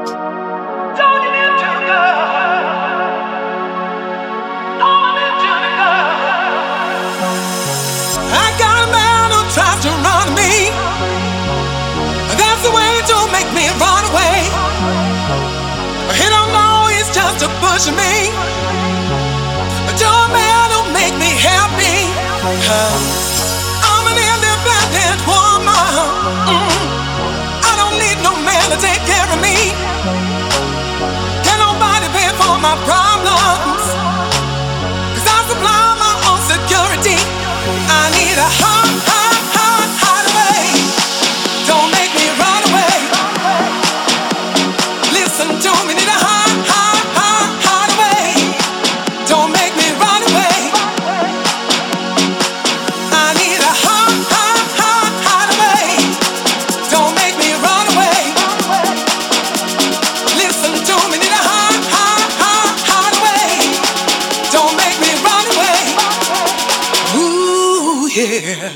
[SPEAKER 15] I got a man who tries to run me. That's the way to make me run away. He don't know he's just a pushing me. To a man who make me happy. I'm an independent woman. Mm. I don't need no man to take care of me. Can nobody pay for my problems? 'Cause I supply my own security. I need a hot, hot, hot, hideaway. Don't make me run away. Listen to me, need a hot, hot, hot, hideaway. Don't make me run away. I need a hot, hot, hot, hideaway. Don't make me run away. Listen to me, need a hot, hot, hot, hideaway. Don't make me run away. Ooh, yeah.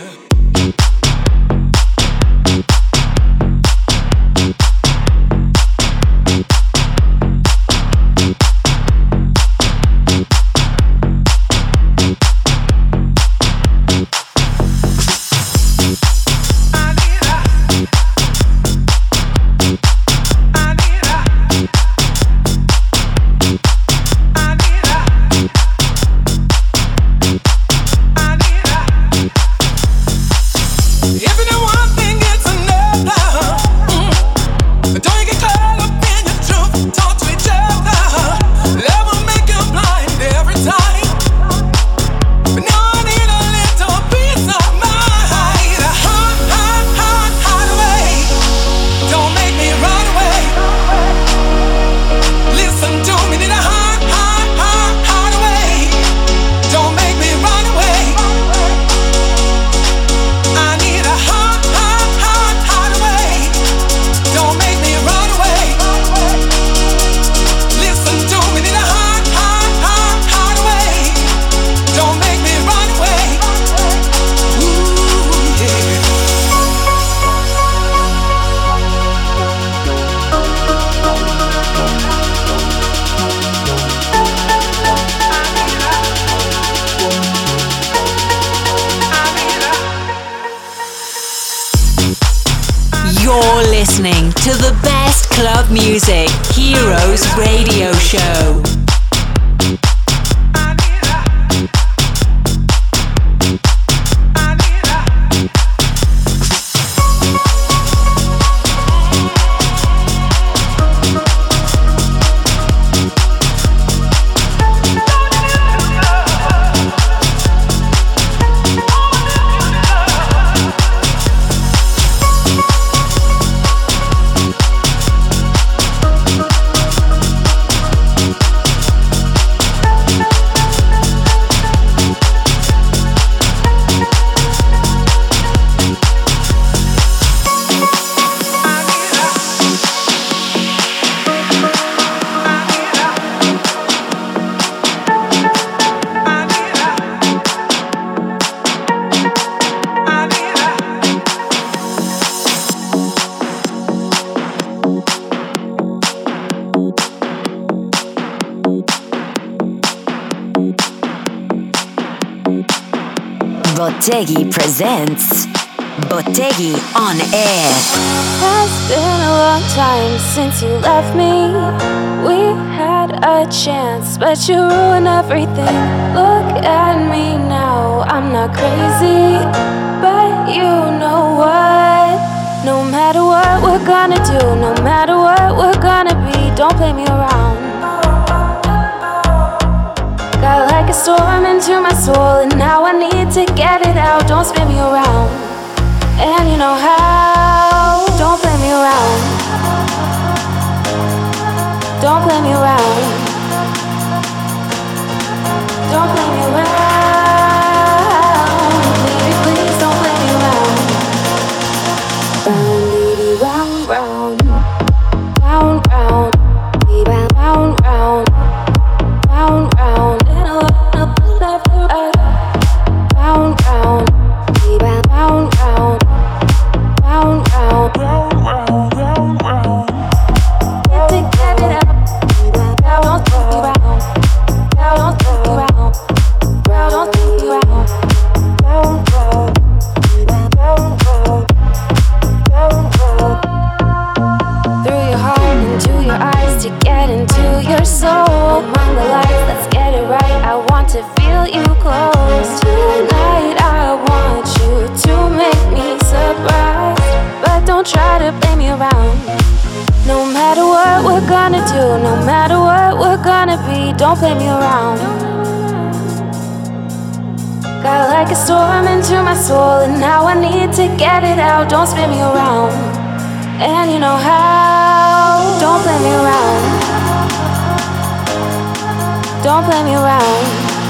[SPEAKER 1] You're listening to the best club music, Heroes Radio Show.
[SPEAKER 8] Botteghi presents Botteghi on Air.
[SPEAKER 16] It's been a long time since you left me. We had a chance, but you ruined everything. Look at me now, I'm not crazy, but you know what? No matter what we're gonna do, no matter what we're gonna be, don't play me around. Got like a storm into my soul, and now I need to get it out. Don't spin me around, and you know how. Don't play me around. Don't play me around. Don't play me around. Baby, please don't play me around. Round, baby, round, round, round, round, baby, round, round, round, round. Left to right, round, round, baby, round, round, round, me, don't play me around. Got like a storm into my soul, and now I need to get it out. Don't spin me around, and you know how. Don't play me around. Don't play me around.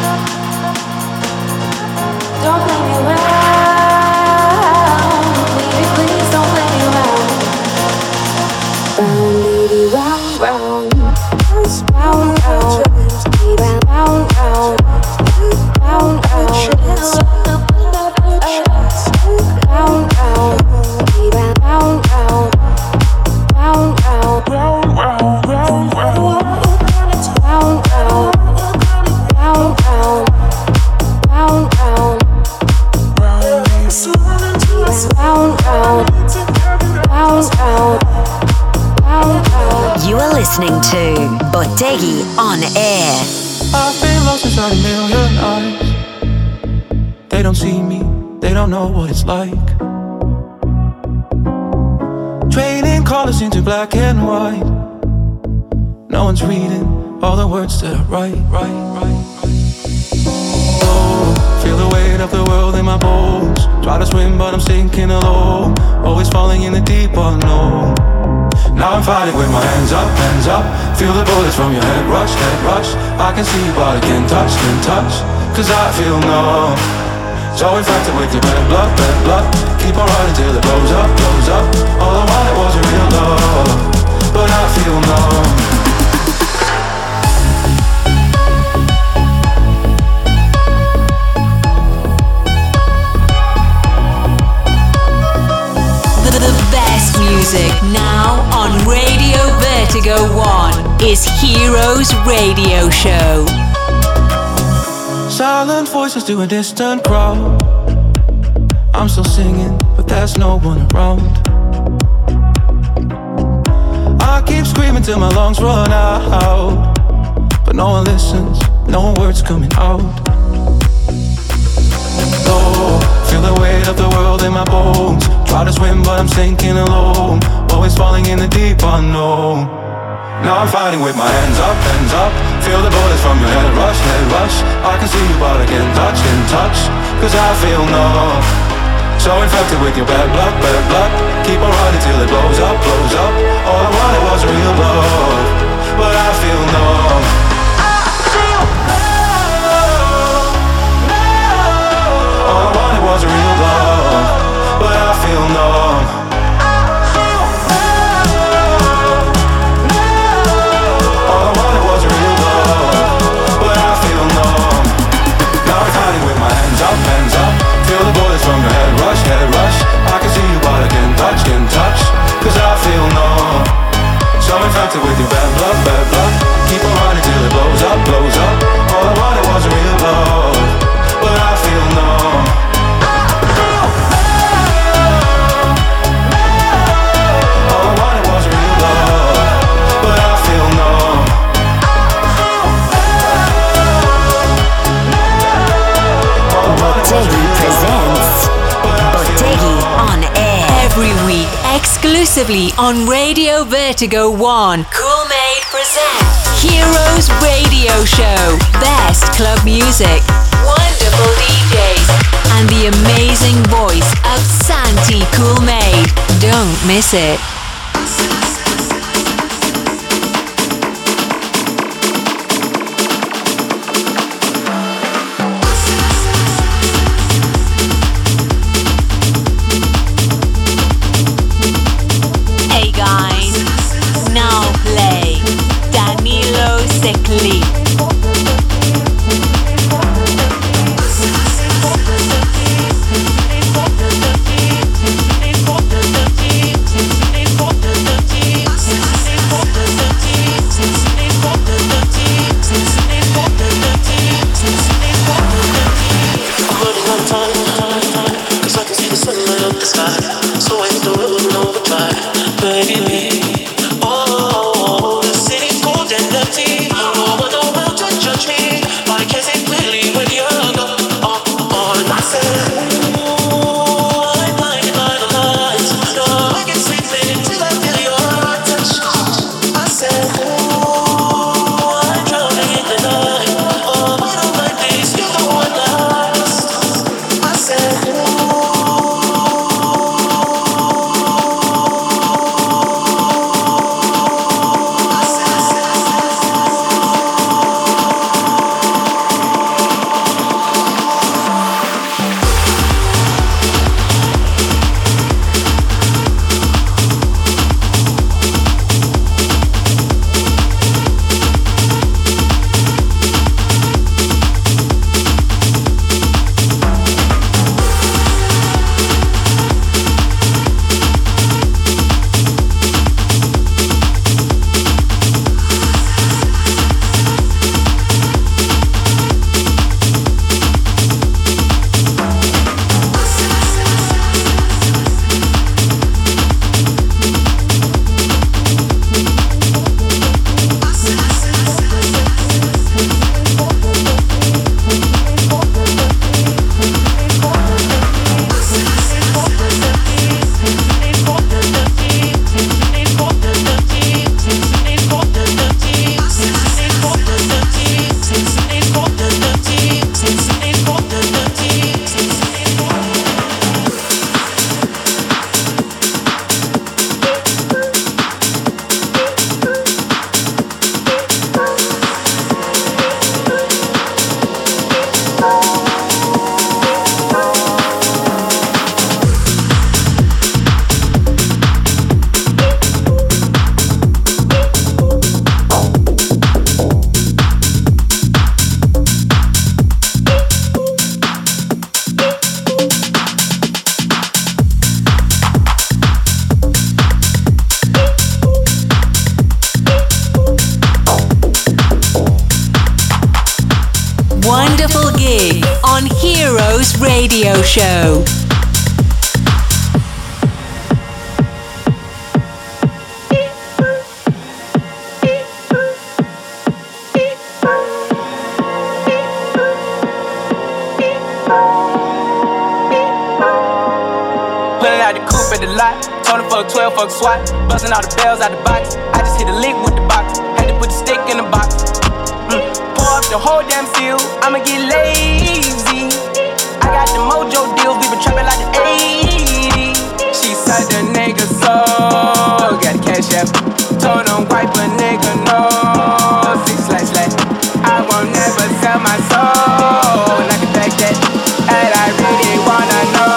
[SPEAKER 16] Don't play me around. Baby, please don't play me around. Round, baby, round, round. Round, round. Baby, round, round. Round, round. Round, round. Baby, round, round. Round, round. Round, round, round, round. Round, round. Round, round. Round, round.
[SPEAKER 8] You are listening to Bottegi on air.
[SPEAKER 17] I've been lost inside a million eyes. They don't see me, they don't know what it's like. Trading colors into black and white. No one's reading all the words that I write, write, write. Oh, feel the weight of the world in my bones. Try to swim but I'm sinking alone. Always falling in the deep unknown. Now I'm fighting with my hands up, hands up. Feel the bullets from your head rush, head rush. I can see you but I can't touch, can't touch. Cause I feel numb. So infected with your red blood, red blood. Keep on running till it blows up, blows up. All I wanted was a real love, but I feel numb.
[SPEAKER 1] Music now on Radio Vertigo One is Heroes Radio Show.
[SPEAKER 17] Silent voices to a distant crowd. I'm still singing, but there's no one around. I keep screaming till my lungs run out, but no one listens, no words coming out. Oh, feel the weight of the world in my bones. Try to swim but I'm sinking alone. Always falling in the deep unknown. Now I'm fighting with my hands up, hands up. Feel the bullets from your head rush, head rush. I can see you but I can't touch, can't touch. Cause I feel numb. So infected with your bad blood, bad blood. Keep on running till it blows up, blows up. All I wanted was real love, but I feel numb. All I wanted was real love, but I feel numb. All I wanted was real love, but I feel numb. Now I'm fighting with my hands up, hands up. Feel the bullets from your head rush, head rush. I can see you but I can't touch, can't touch. Cause I feel numb. So infected with your bad blood, bad blood. Keep on running till it blows up, blows up. All I wanted was real love, but I feel numb.
[SPEAKER 8] Bottegi presents Bottegi on air.
[SPEAKER 1] Every week, exclusively on Radio Vertigo One. Cool Made present Heroes Radio Show. Best club music, wonderful D Js, and the amazing voice of Santi Cool Made. Don't miss it.
[SPEAKER 18] Secli.
[SPEAKER 1] wonderful gig on Heroes Radio Show.
[SPEAKER 18] Fuck twelve, fuck SWAT, busting all the bells out the box. I just hit a lick with the box, had to put the stick in the box. Mm. Pour up the whole damn field, I'ma get lazy. I got the mojo deals, we been trapping like the eighties. She said the nigga so got the cash app, told him wipe a nigga no. Six slash slash, I won't never sell my soul, and I can back that, and I really wanna know.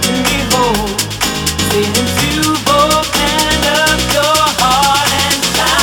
[SPEAKER 19] Into both and up your heart and shine.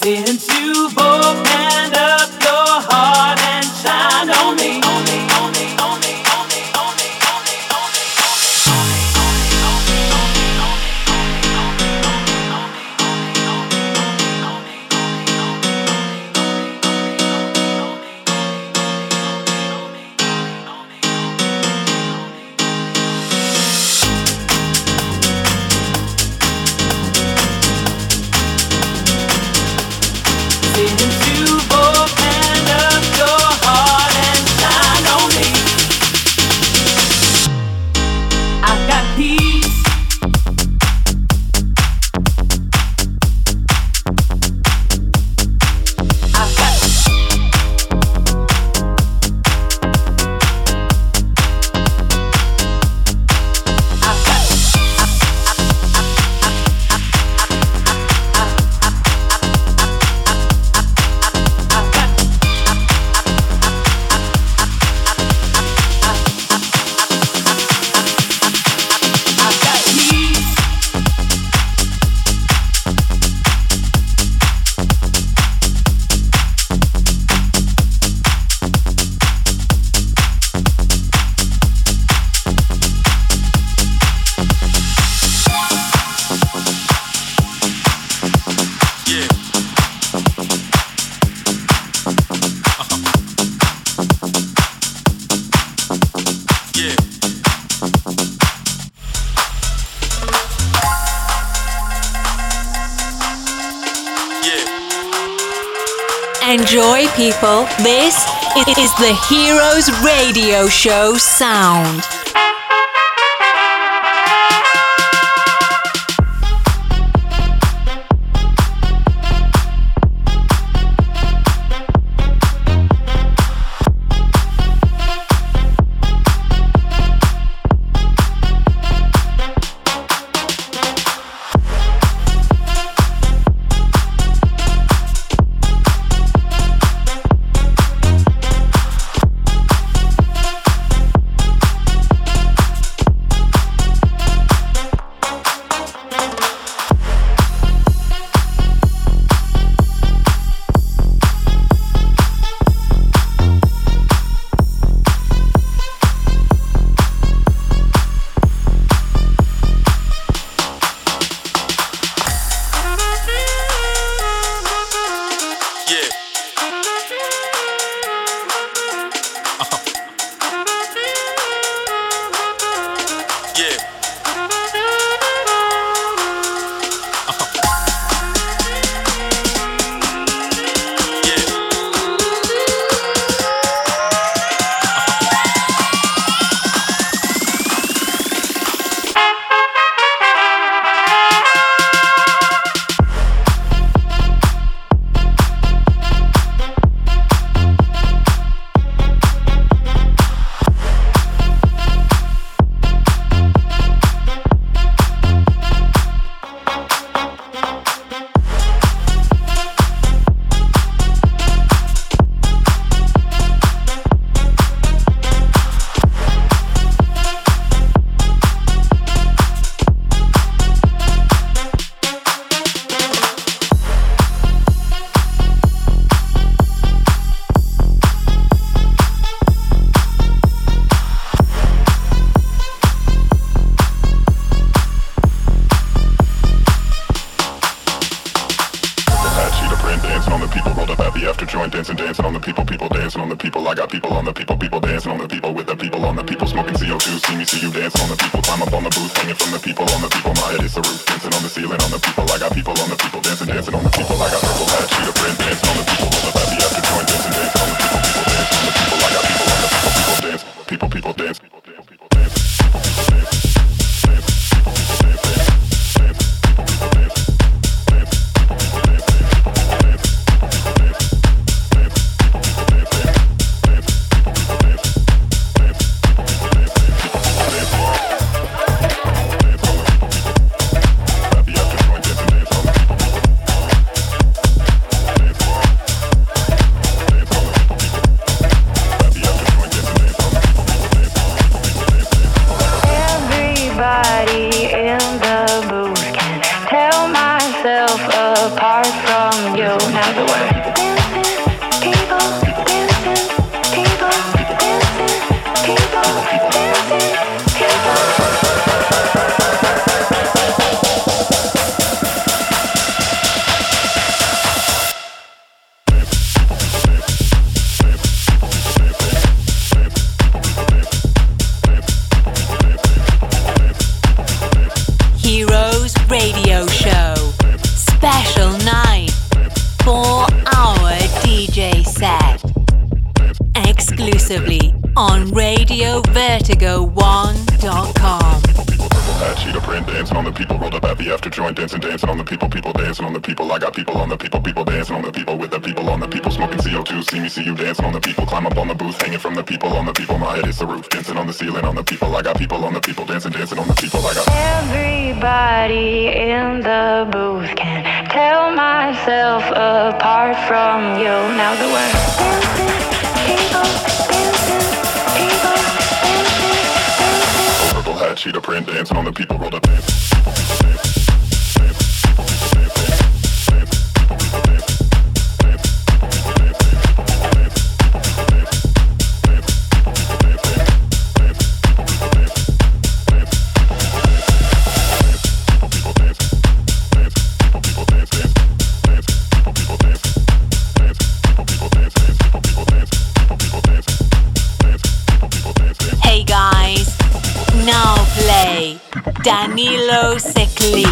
[SPEAKER 9] Since you've opened up your heart and shined on me, on me, on me, on me, on me, on me, on me, on me. Since you've opened up your heart and shined on me, I've got peace. I've got I've got
[SPEAKER 1] Enjoy, people. This is the Heroes Radio Show sound. exclusively on radio vertigo one dot com.
[SPEAKER 19] That cheetah print dancing on the people, rolled up at the after joint, dancing, dancing on the people, people dancing on the people. I got people on the people, people dancing on the people, with the people on the people, smoking C O two. See me, see you dancing on the people, climb up on the booth, hanging from the people on the people. My head is the roof, dancing on the ceiling on the people. I got people on the people, dancing, dancing on the people. I got
[SPEAKER 16] everybody in the booth can tell myself apart from you. Now the word dancing, people, dancing, people, dancing, dancing.
[SPEAKER 19] Purple hat, cheetah print, dancing on the people, rolled up dancing.
[SPEAKER 1] Now play Danilo Secli.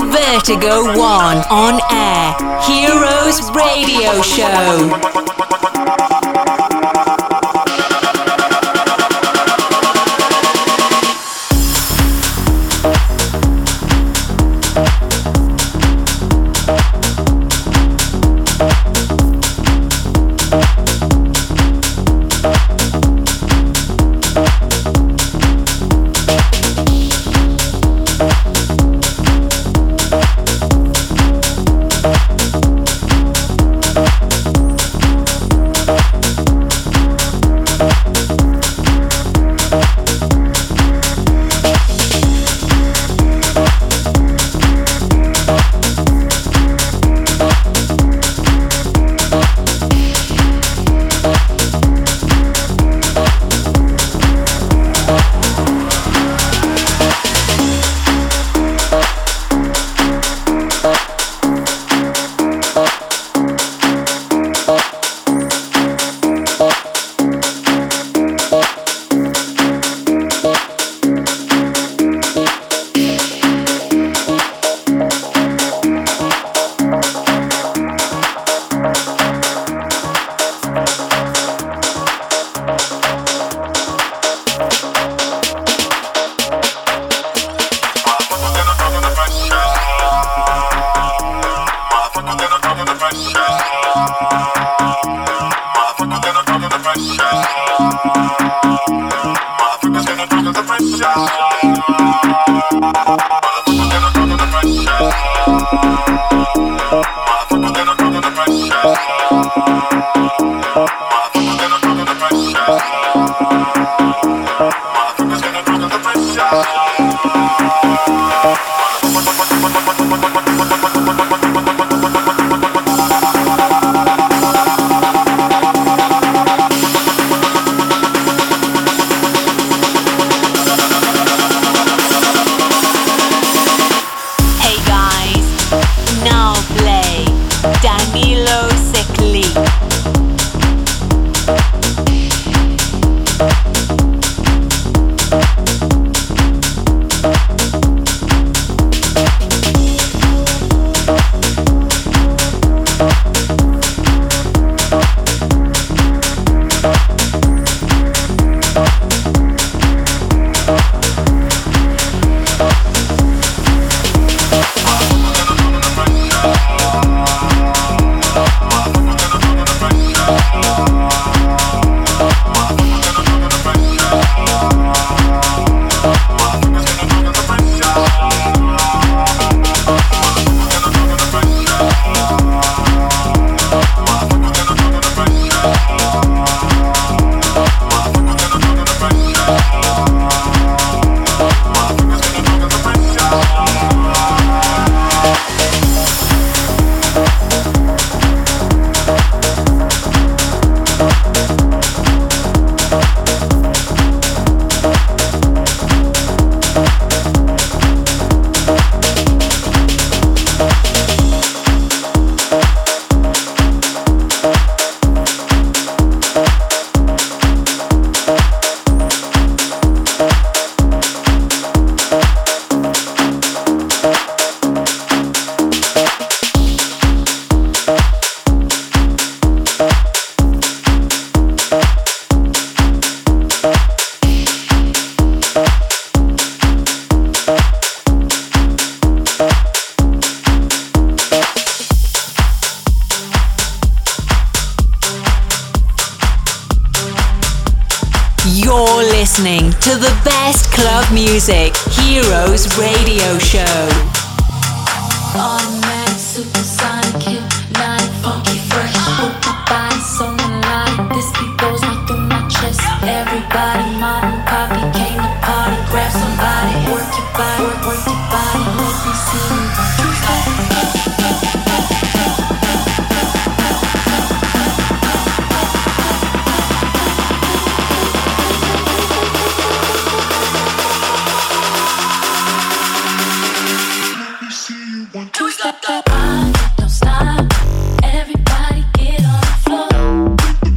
[SPEAKER 1] Radio Vertigo One on air. Heroes Radio Show. You're listening to the best club music, Heroes Radio Show.
[SPEAKER 9] Automatic, supersonic, hypnotic, funky, fresh. Put my body so melodic. This beat goes right through my chest. Everybody, modern copy, came to party. Grab somebody, work your body, work, work your body. Let me see you. Stop, stop, don't stop. Everybody get on the floor.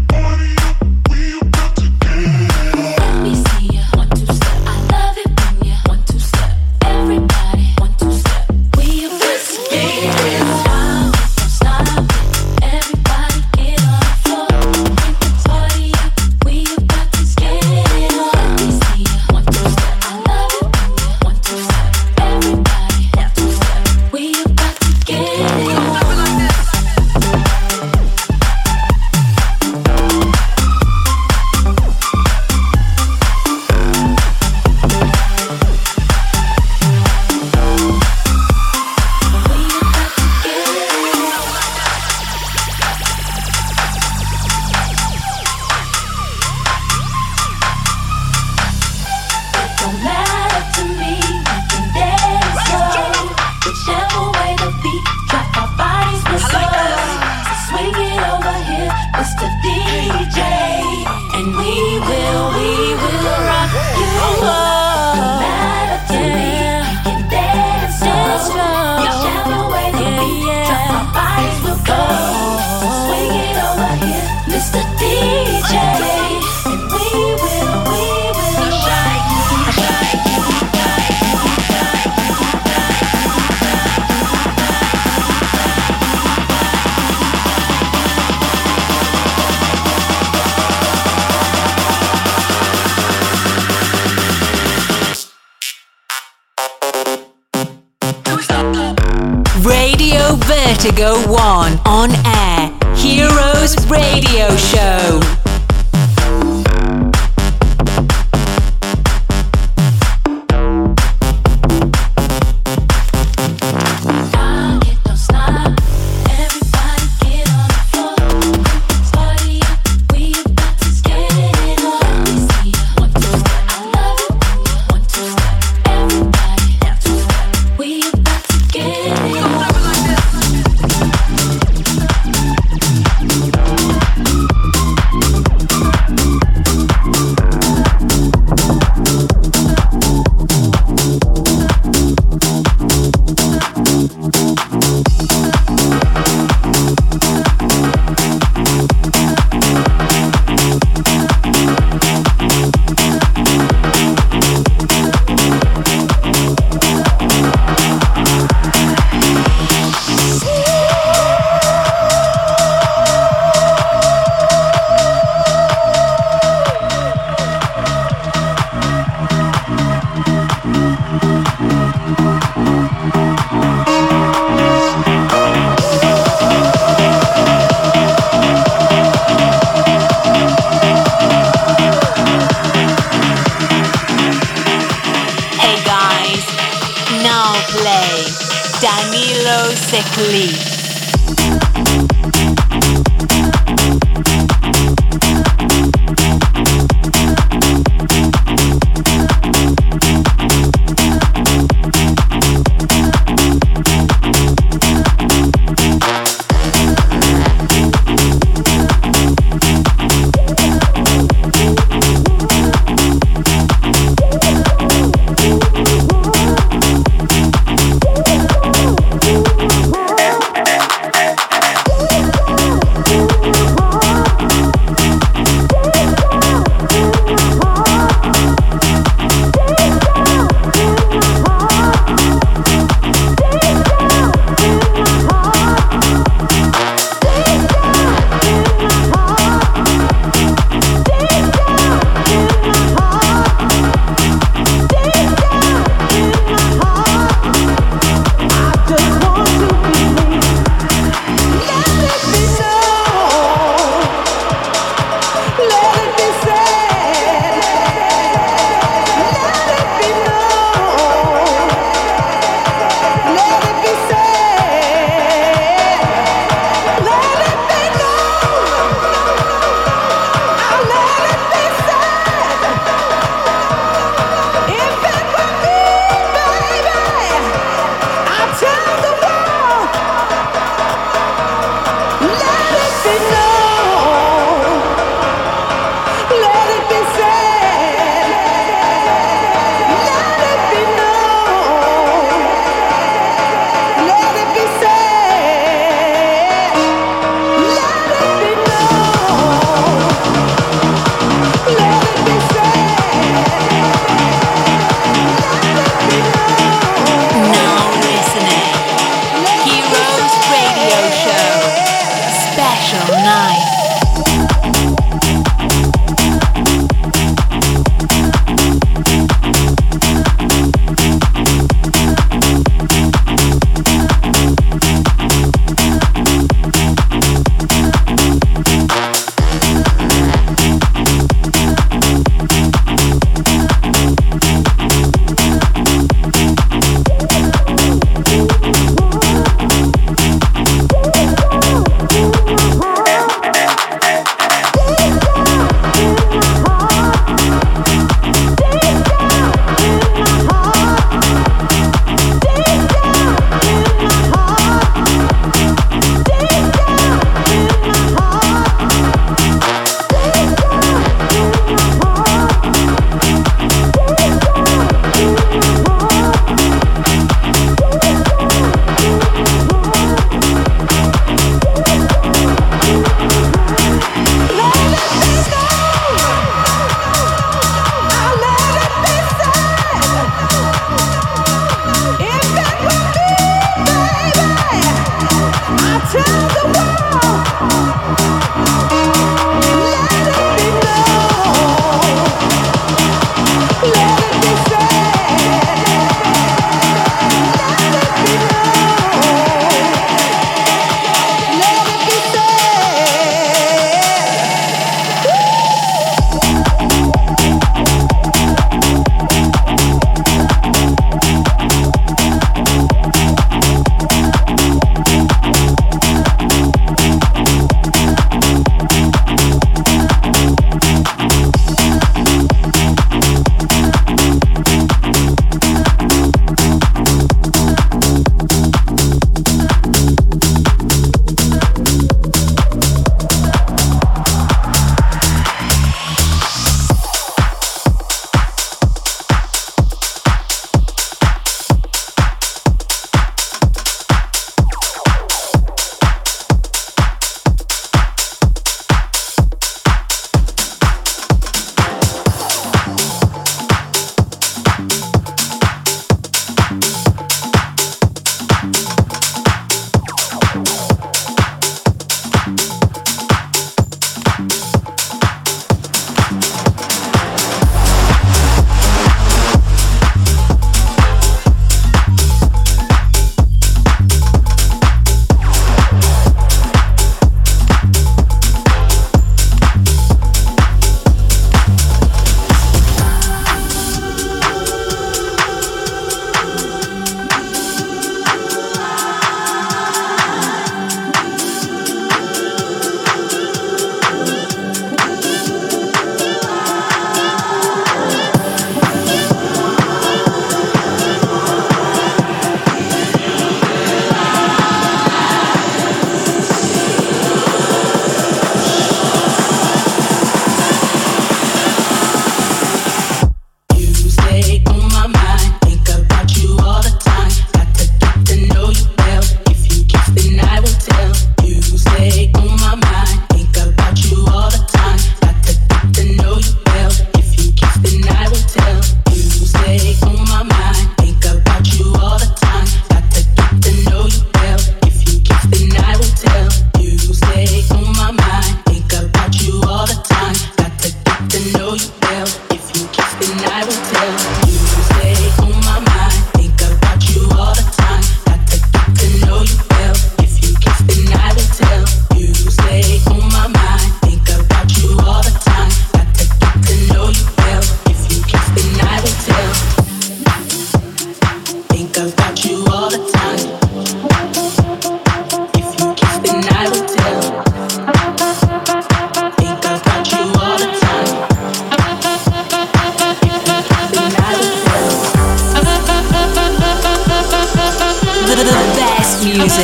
[SPEAKER 9] Let me see ya. One, two, step. I love it when ya one, two, step. Everybody, one, two, step. We beat, drop our bodies with soul. So swing it over here, Mister D J, and we will, we will rock you up. No matter to me, you can dance slow. Whichever way the beat, drop our bodies will go. So swing it over here, Mister D J, and we will, we will rock you, rock you, rock you, rock you.
[SPEAKER 1] Radio Vertigo One on air. Heroes Radio Show. Danilo Secli.
[SPEAKER 9] Woo!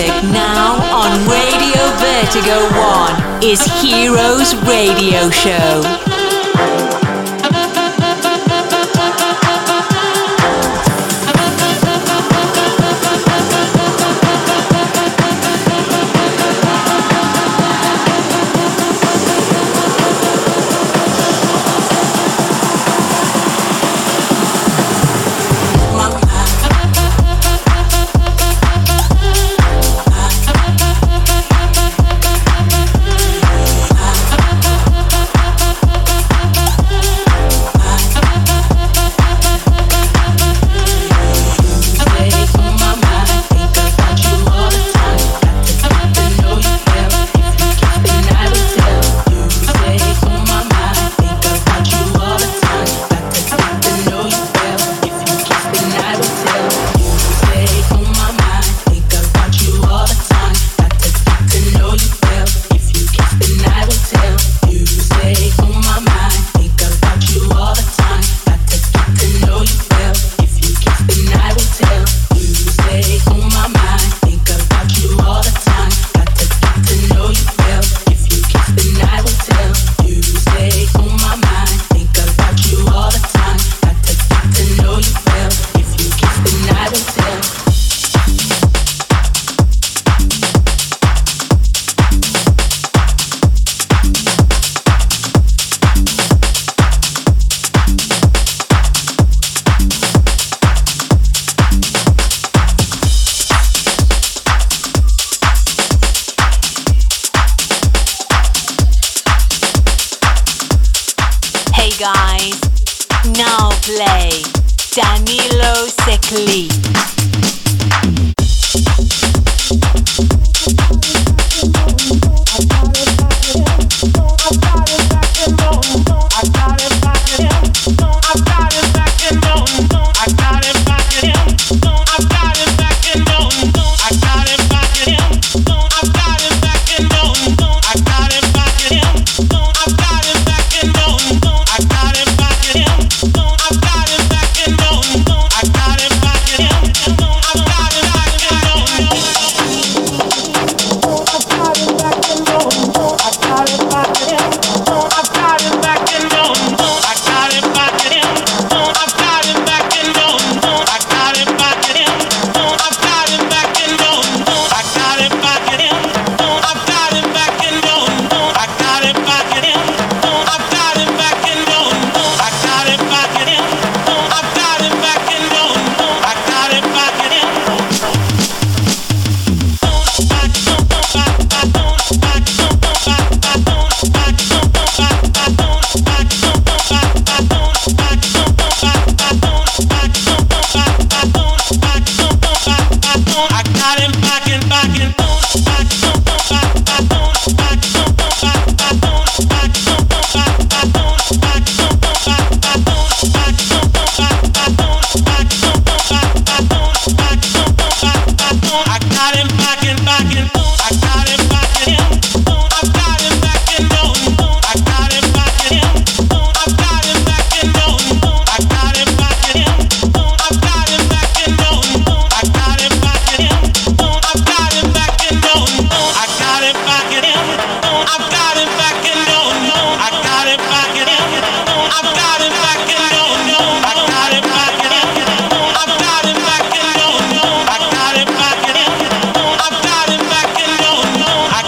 [SPEAKER 1] Now on Radio Vertigo One is Heroes Radio Show.
[SPEAKER 15] I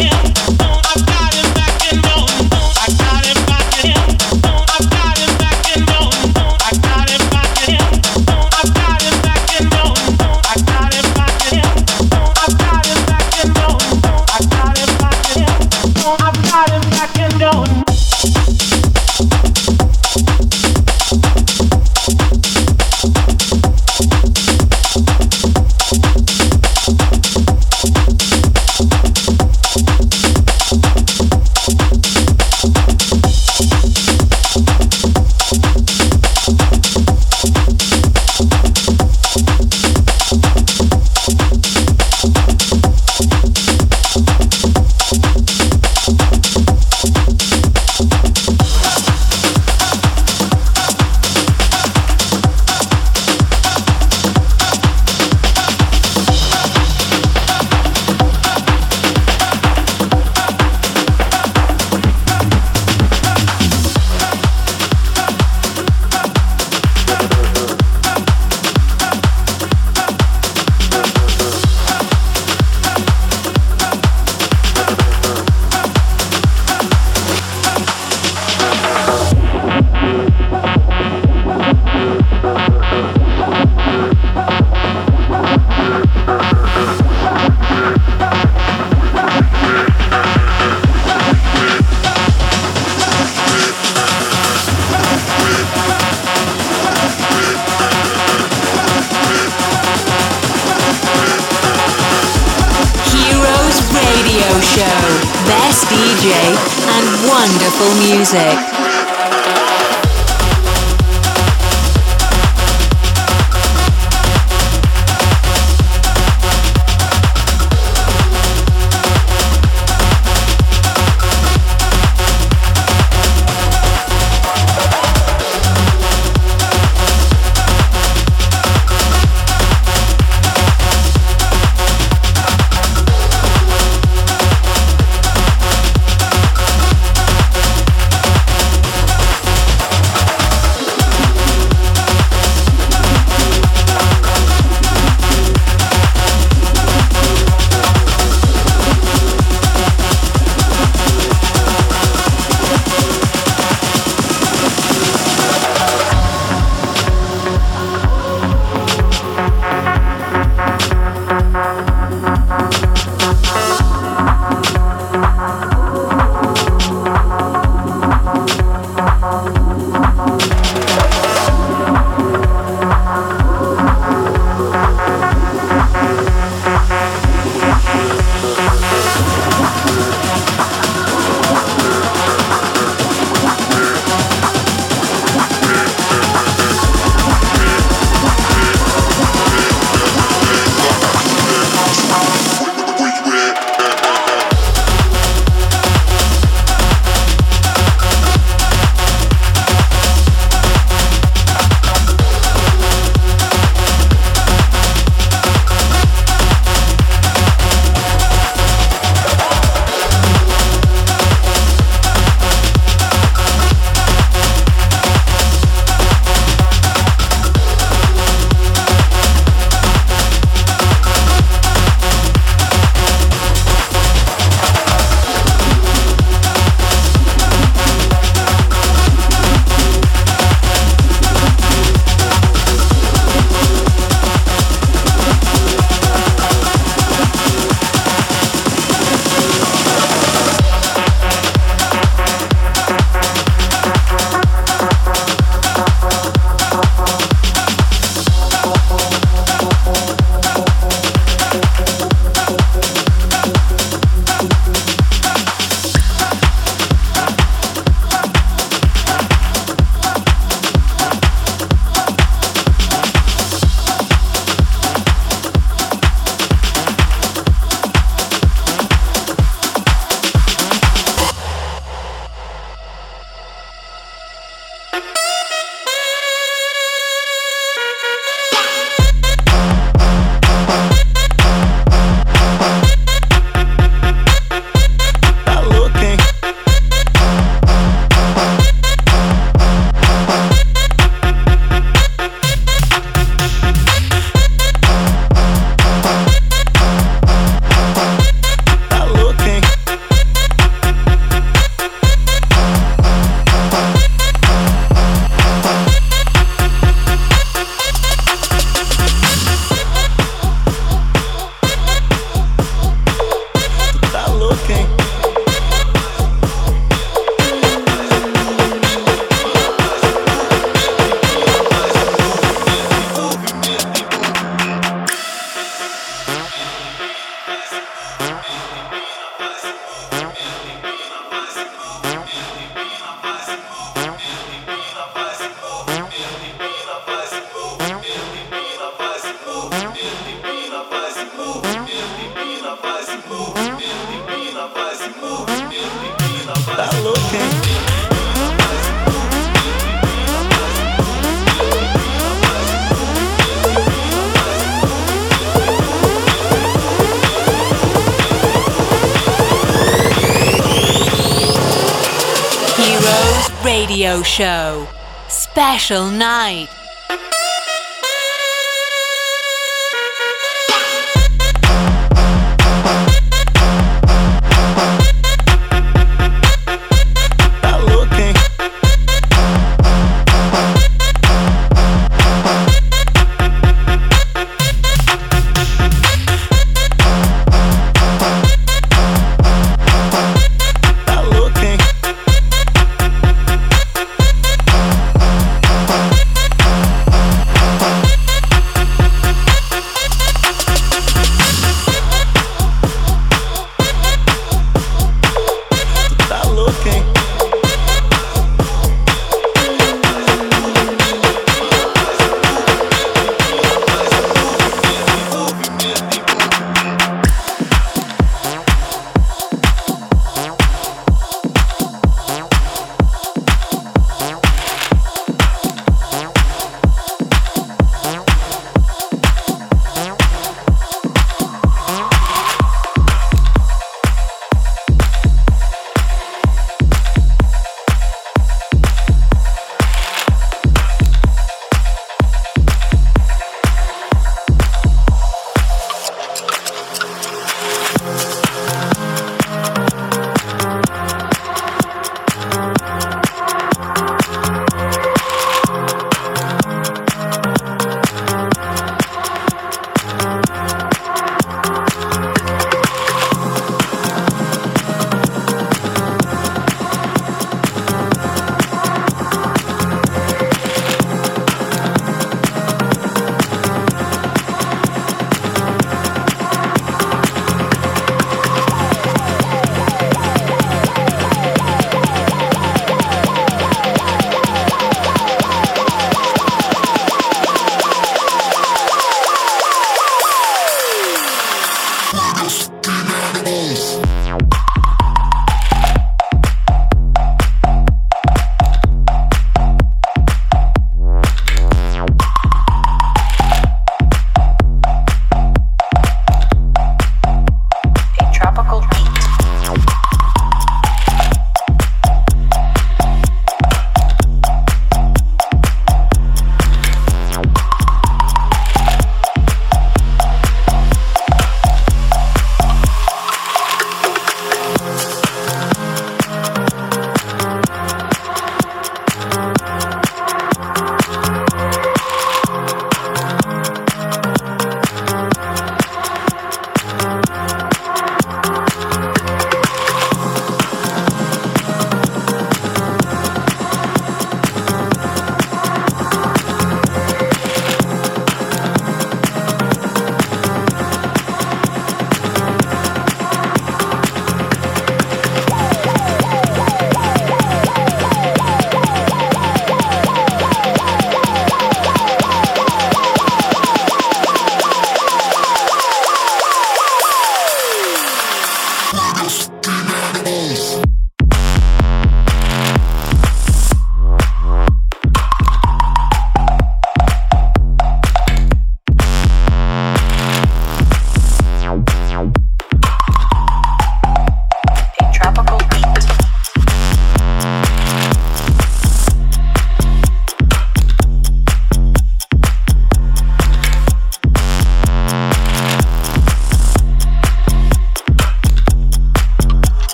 [SPEAKER 1] D J and wonderful music.
[SPEAKER 20] looking.
[SPEAKER 1] Radio Show Special Night.
[SPEAKER 20] Looking.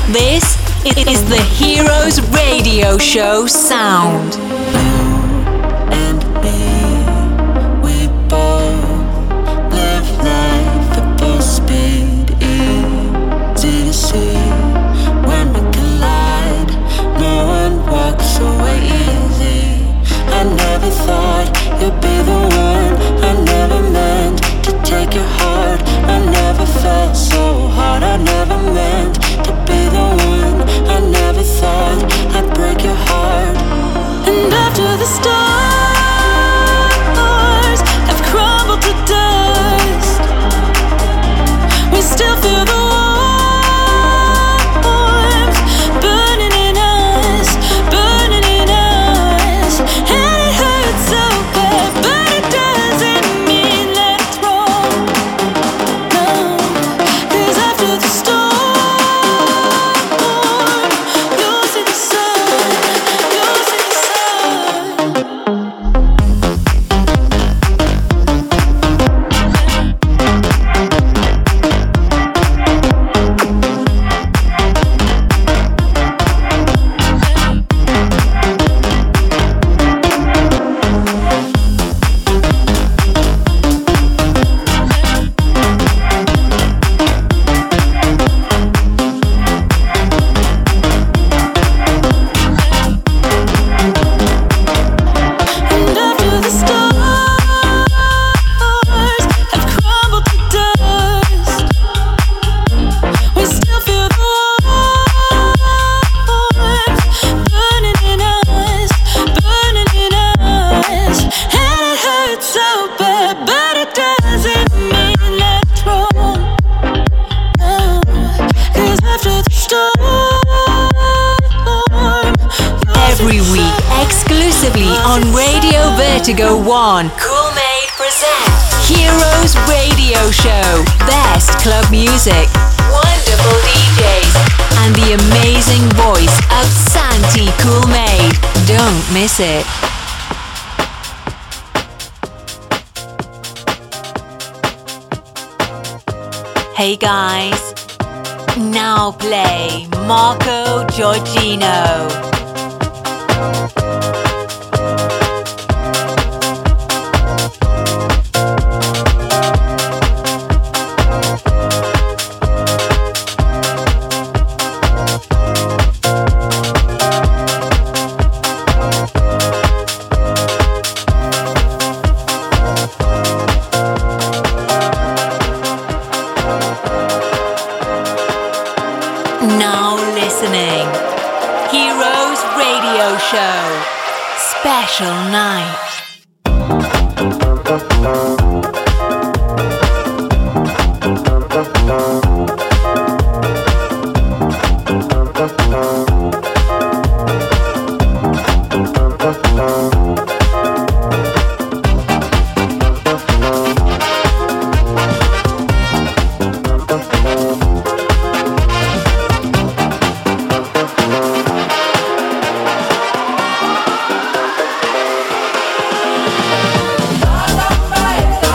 [SPEAKER 1] This is the Heroes Radio Show sound.
[SPEAKER 9] You'd be the one I never meant to take your heart. I never felt so hard. I never meant to be the one. I never thought I'd break your heart. And after the stars have crumbled to dust, we still feel the warmth burning in us, burning in us. And it hurts so bad, but it doesn't mean that it's wrong. No, 'cause after the storm, you'll see the sun, you'll see the Vertigo One. Cool Made present Heroes Radio Show. Best club music, wonderful D Js, and the amazing voice of Santi Cool Made. Don't miss it. Hey guys, now play Marco Giorgino. Show Special Night.
[SPEAKER 6] Bye.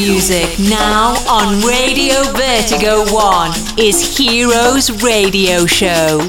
[SPEAKER 1] music now on Radio Vertigo One is Heroes Radio Show.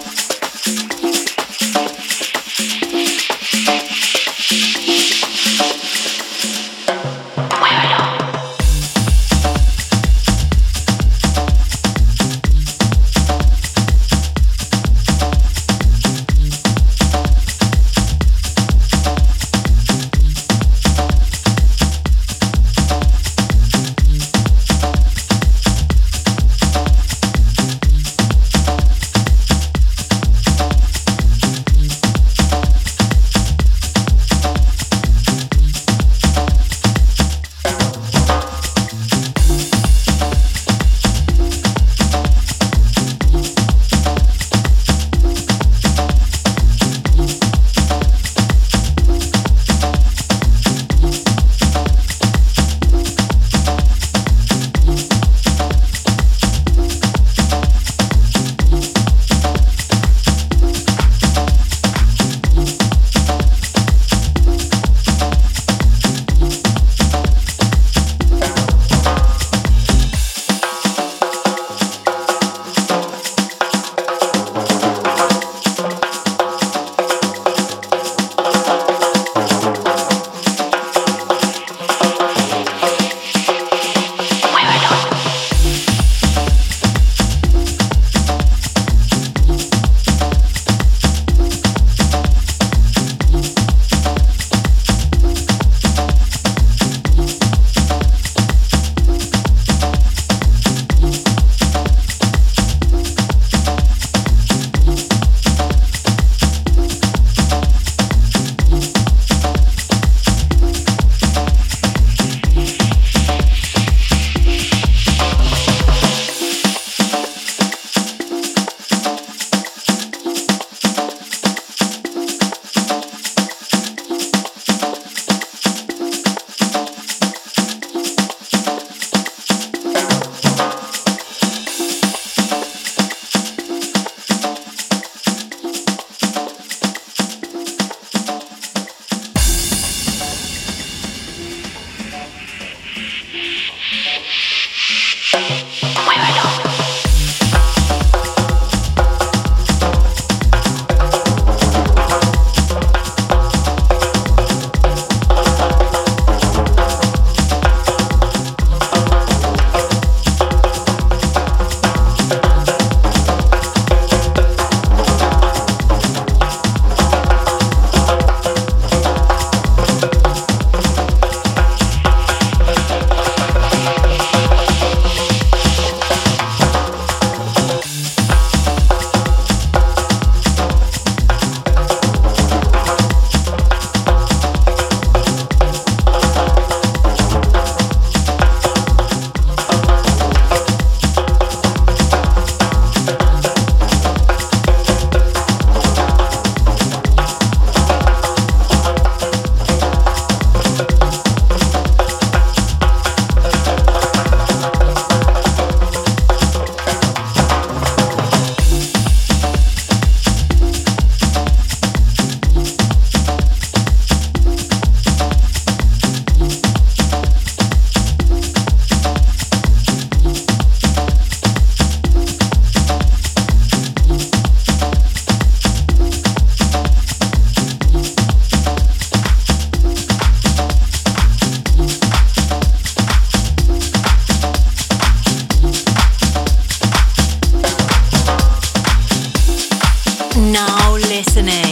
[SPEAKER 1] Now listening.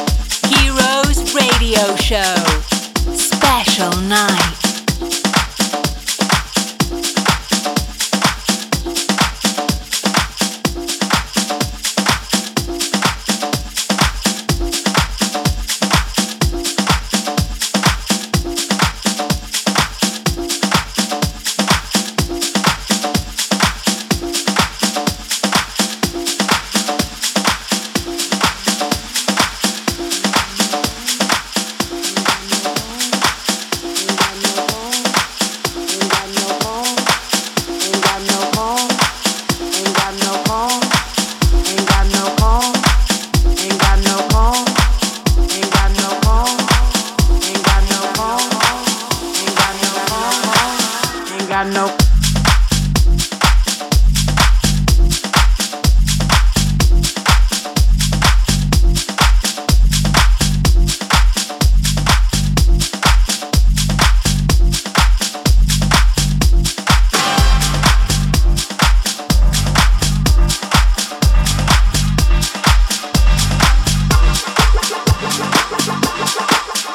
[SPEAKER 1] Heroes Radio Show. Special night.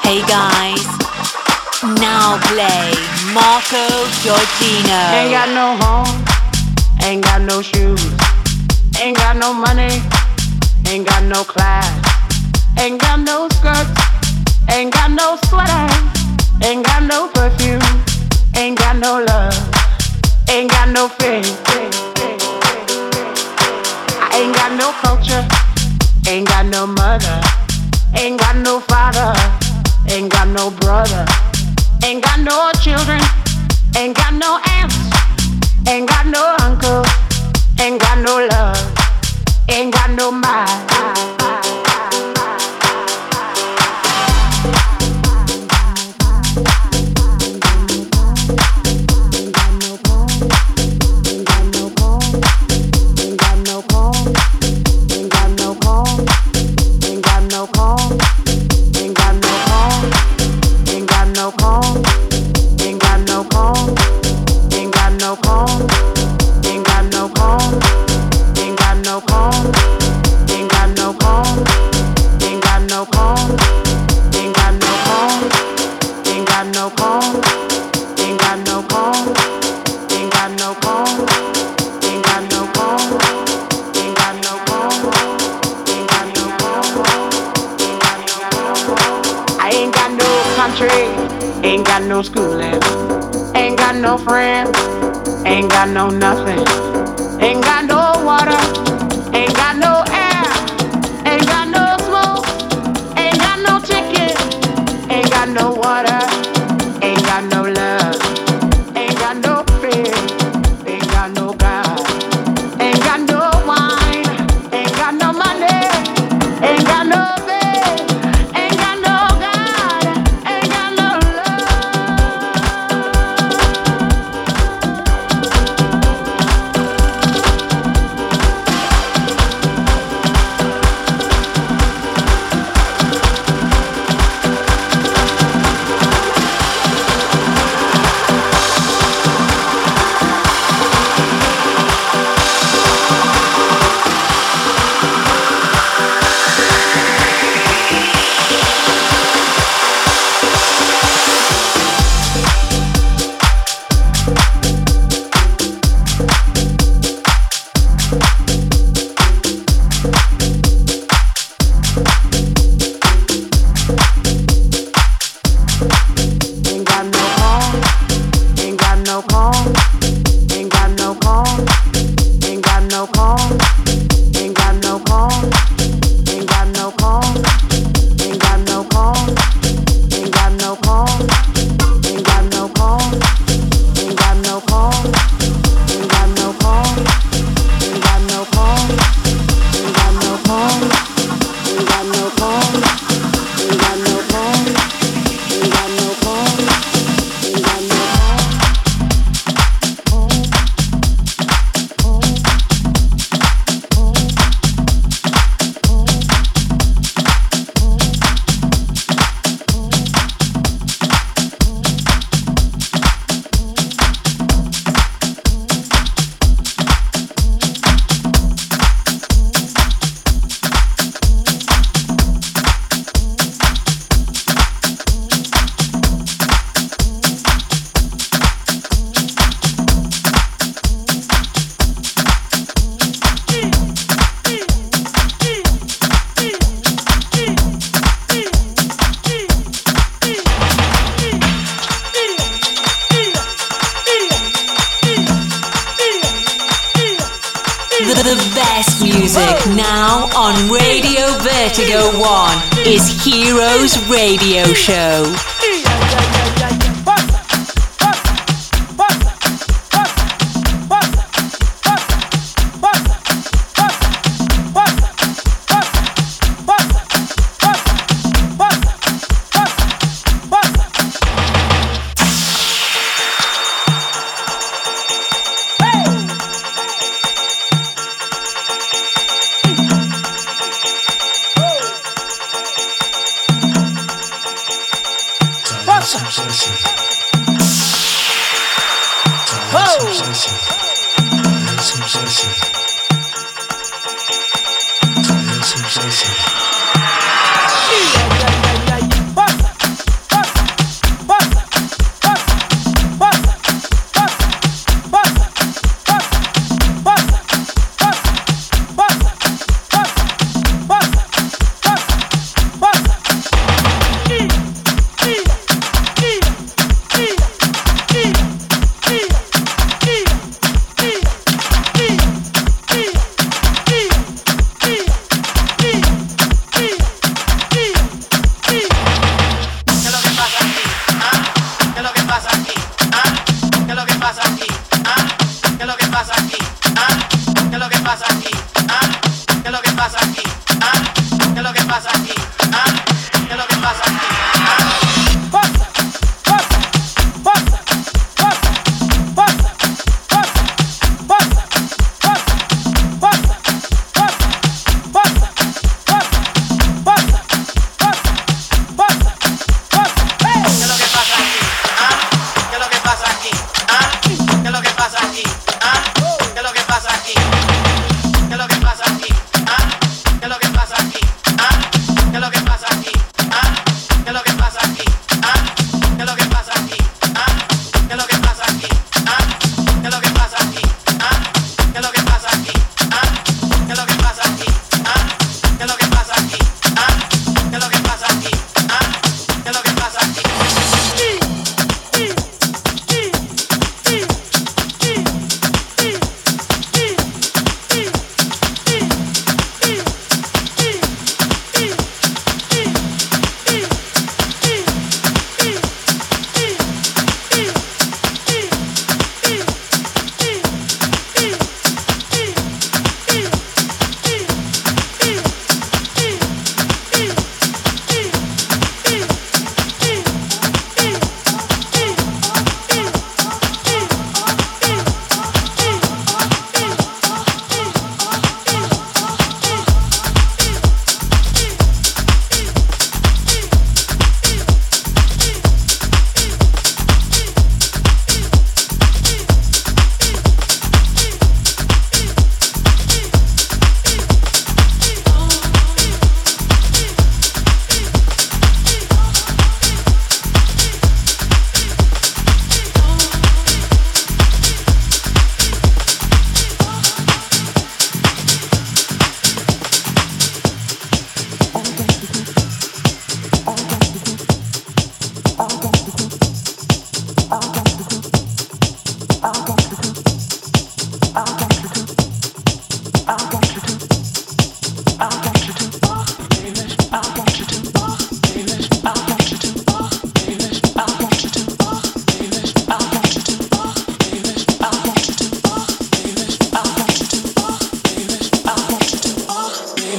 [SPEAKER 1] Hey guys, now play Marco Giorgino.
[SPEAKER 20] Ain't got no home, ain't got no shoes, ain't got no money, ain't got no class, ain't got no skirts, ain't got no sweater, ain't got no perfume, ain't got no love, ain't got no faith. I ain't got no culture, ain't got no mother, ain't got no father, ain't got no brother, ain't got no children, ain't got no aunts, ain't got no uncle, ain't got no love, ain't got no mind. Ain't got no schooling, ain't got no friends, ain't got no nothing, ain't got no water, ain't got no air, ain't got no smoke, ain't got no ticket, ain't got no water, ain't got no love, ain't got no fear, ain't got no God, ain't got no wine, ain't got no money, ain't got no bed, ain't got no God, ain't got no
[SPEAKER 1] The best music now on Radio Vertigo One is Heroes Radio Show.
[SPEAKER 6] Some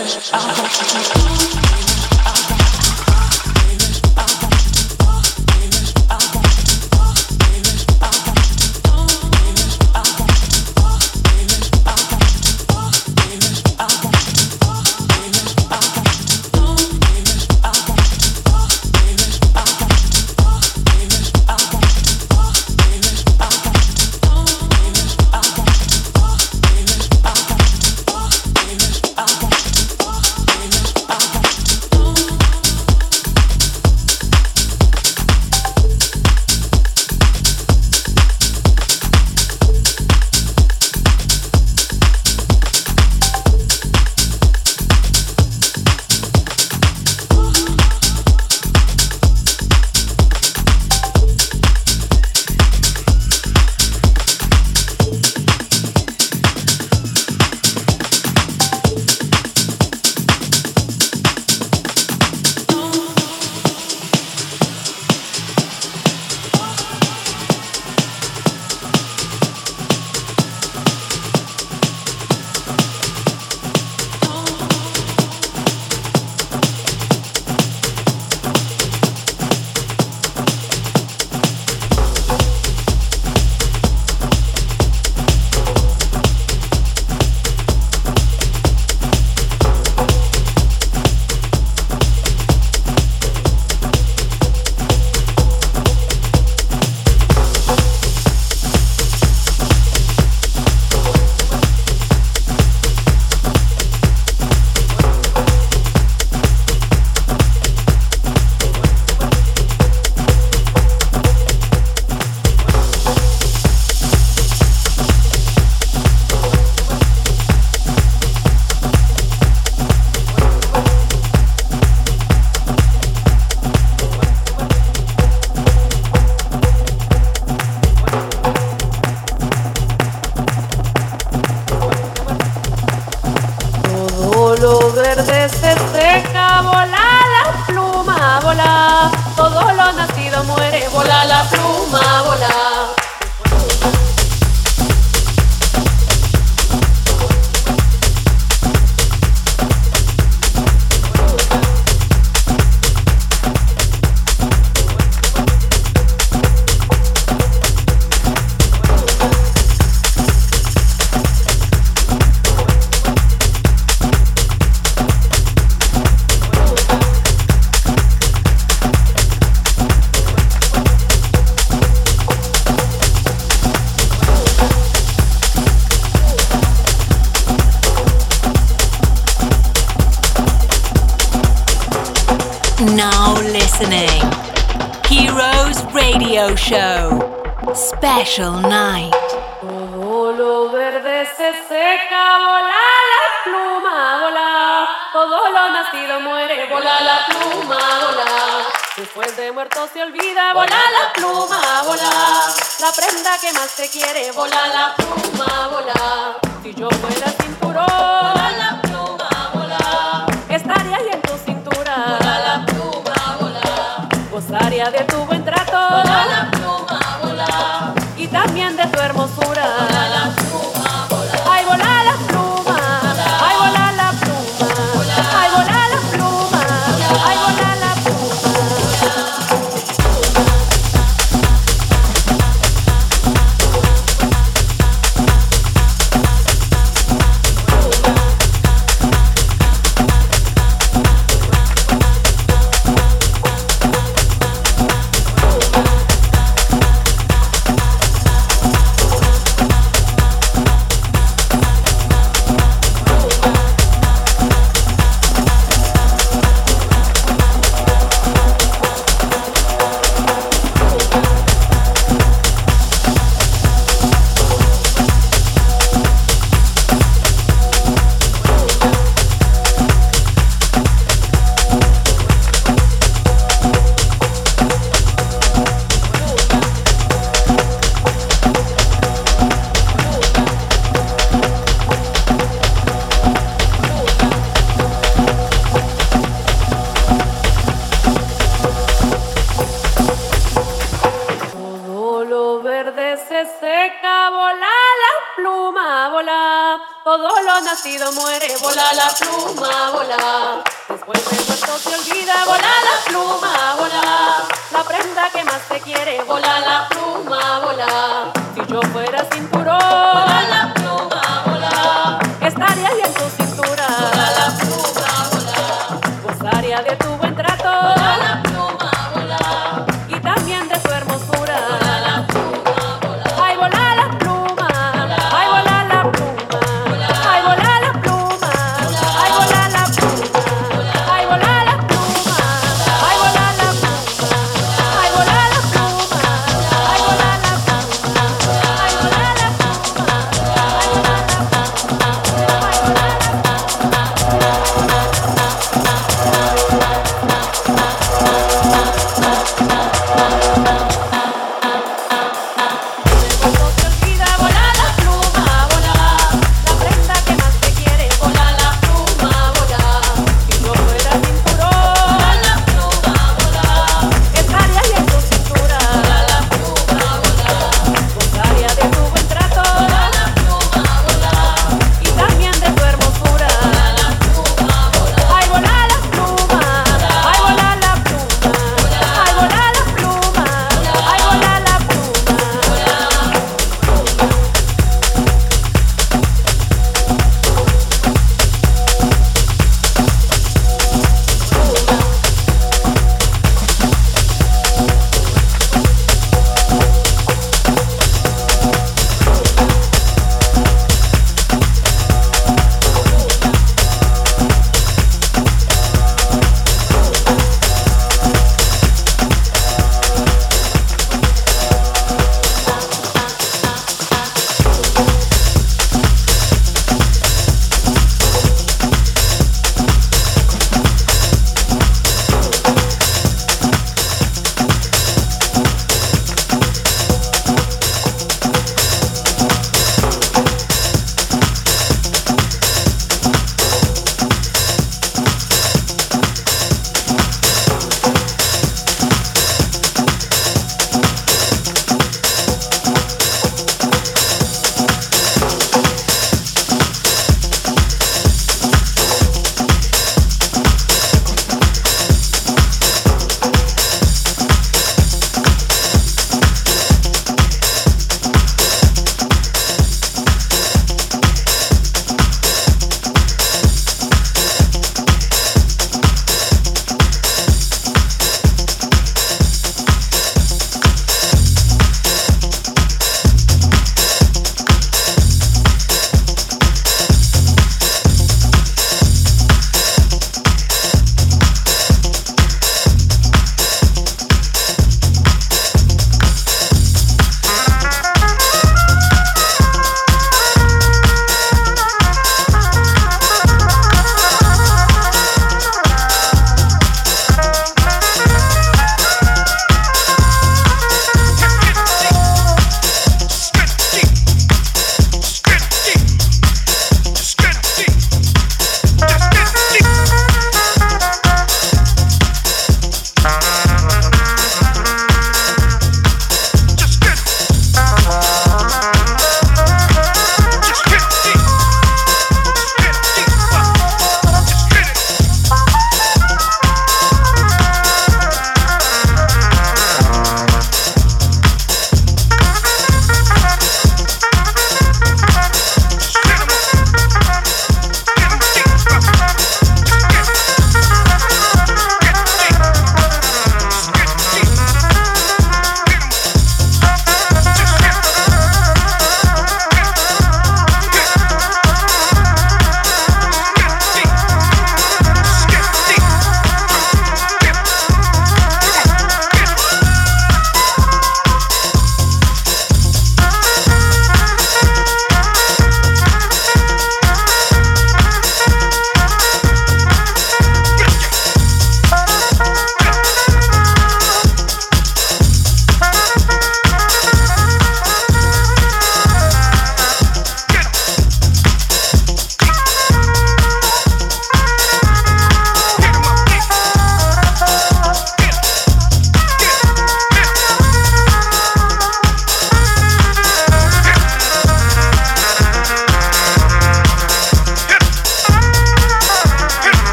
[SPEAKER 1] Now listening. Heroes Radio Show. Special night.
[SPEAKER 16] Todo lo verde se seca, vola la pluma, vola. Todo lo nacido muere, vola la pluma, vola. Después de muerto se olvida, vola la pluma, vola. La prenda que más te quiere, vola la pluma, vola. Si yo fuera cinturón, vola la pluma, vola. Estaría ahí en tu cintura, vola la pluma, vola. Gozaría de tu buen trato, vola la pluma, vola. Y también de tu hermosura, vola la pluma, vola. Ay, vola la pluma, ay, vola la pluma, ay, vola la pluma, ay, vola la
[SPEAKER 21] lo nacido muere. Vola la pluma, vola. Después de muerto se olvida. Vola la pluma, vola. La prenda que más te quiere. Vola la pluma, vola. Si yo fuera cinturón, vola la pluma, vola. Estaría ahí en tu cintura. Vola la pluma, vola. Gozaría de tu buen trato. Vola la pluma, vola. Y también de tu hermosura. Vola la pluma, vola. Ay, vola la pluma. Ay, vola la pluma. Ay, vola la pluma. Ay, vola la pluma. Ay, vola la pluma. Ay, vola la pluma. Ay, vola la pluma. Ay, vola la pluma. Ay, vola la pluma.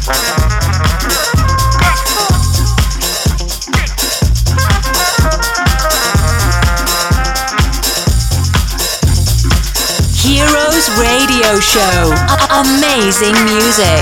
[SPEAKER 1] Heroes Radio Show. A- amazing music.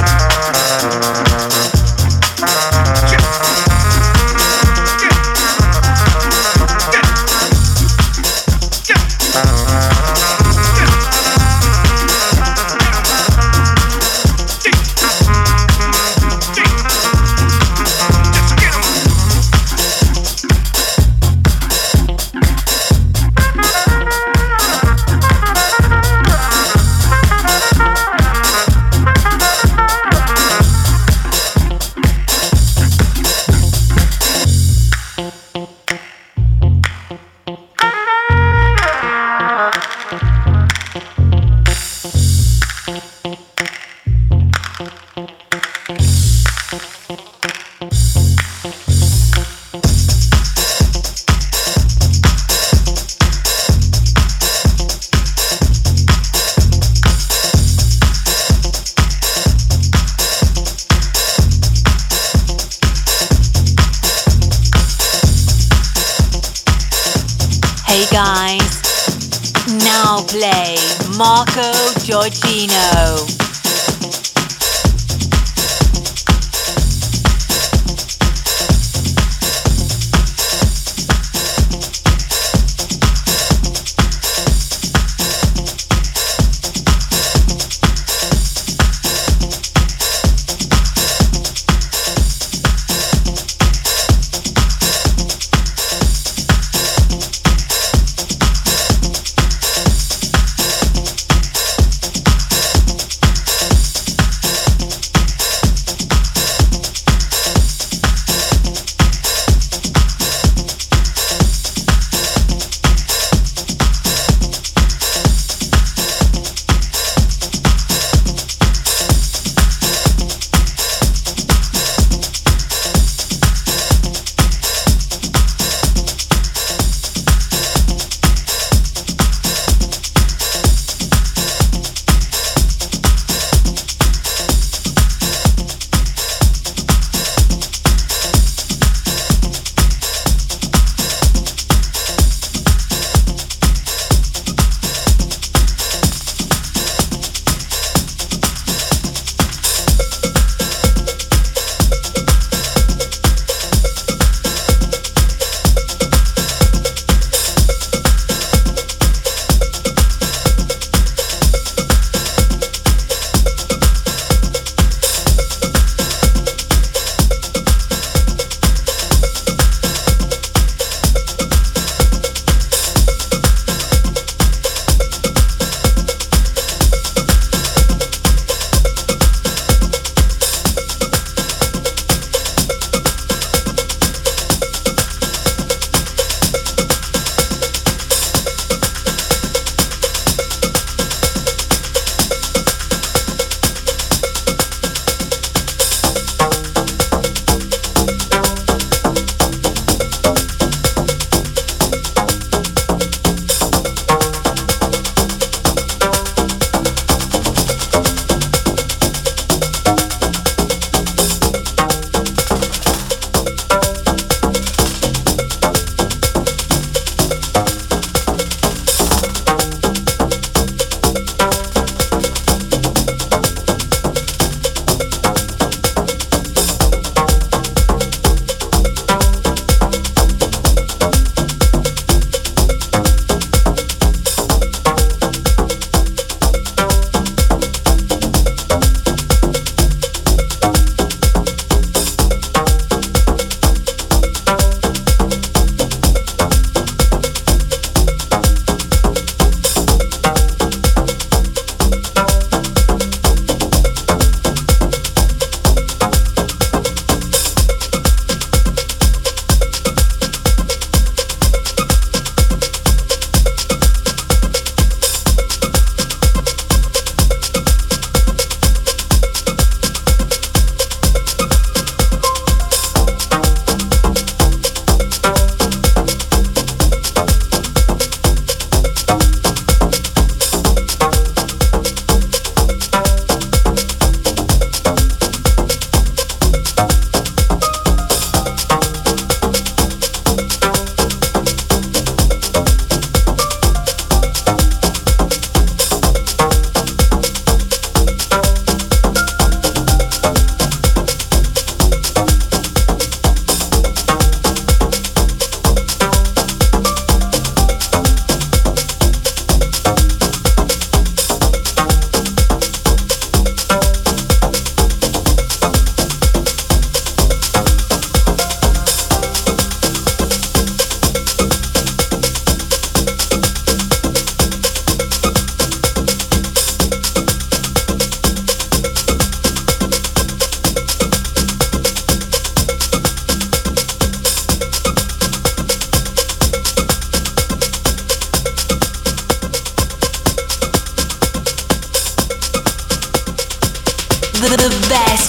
[SPEAKER 1] Marco Giorgino.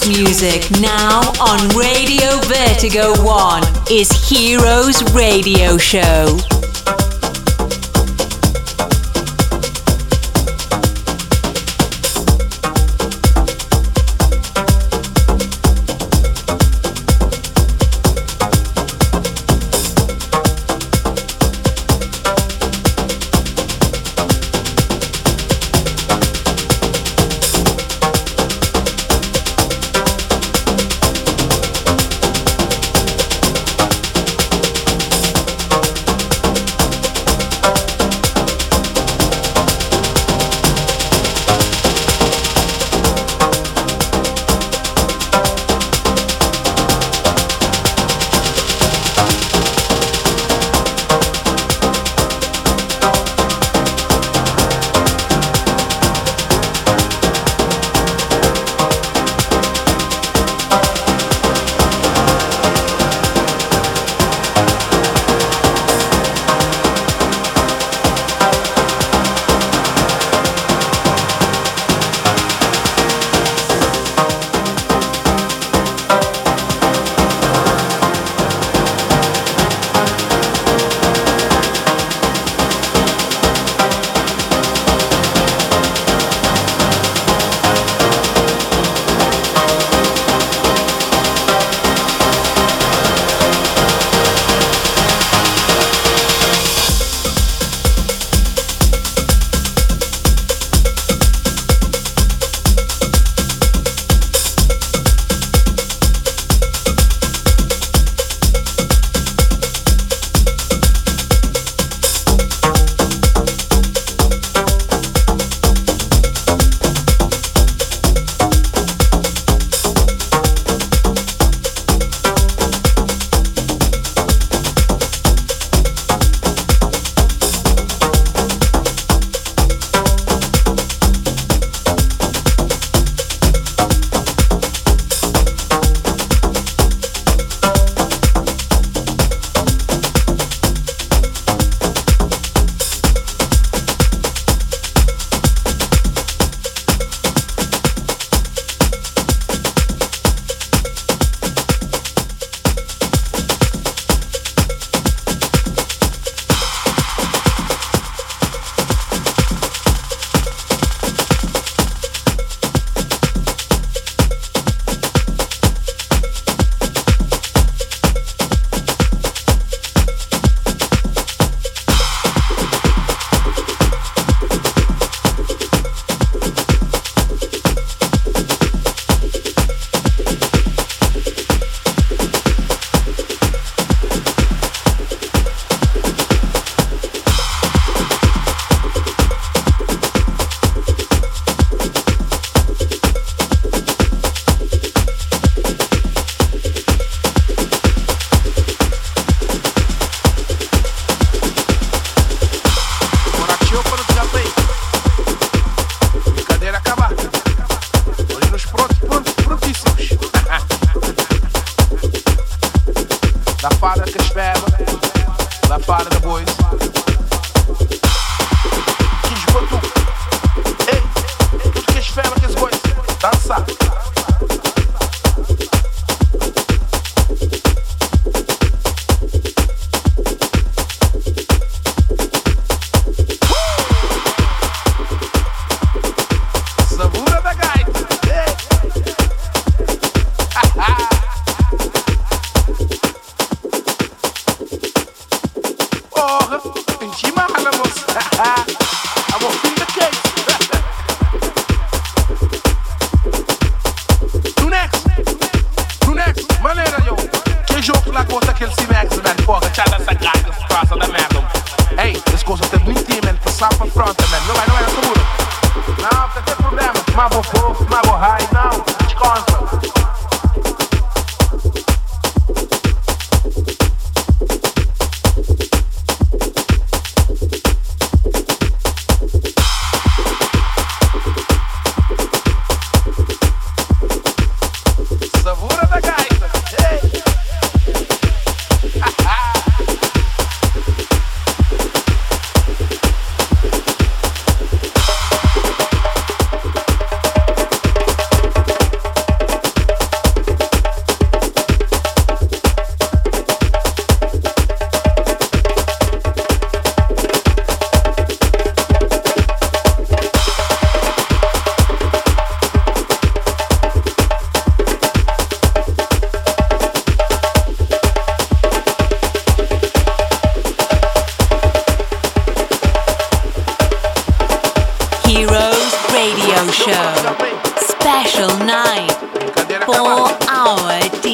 [SPEAKER 1] music now on Radio Vertigo One is Heroes Radio Show.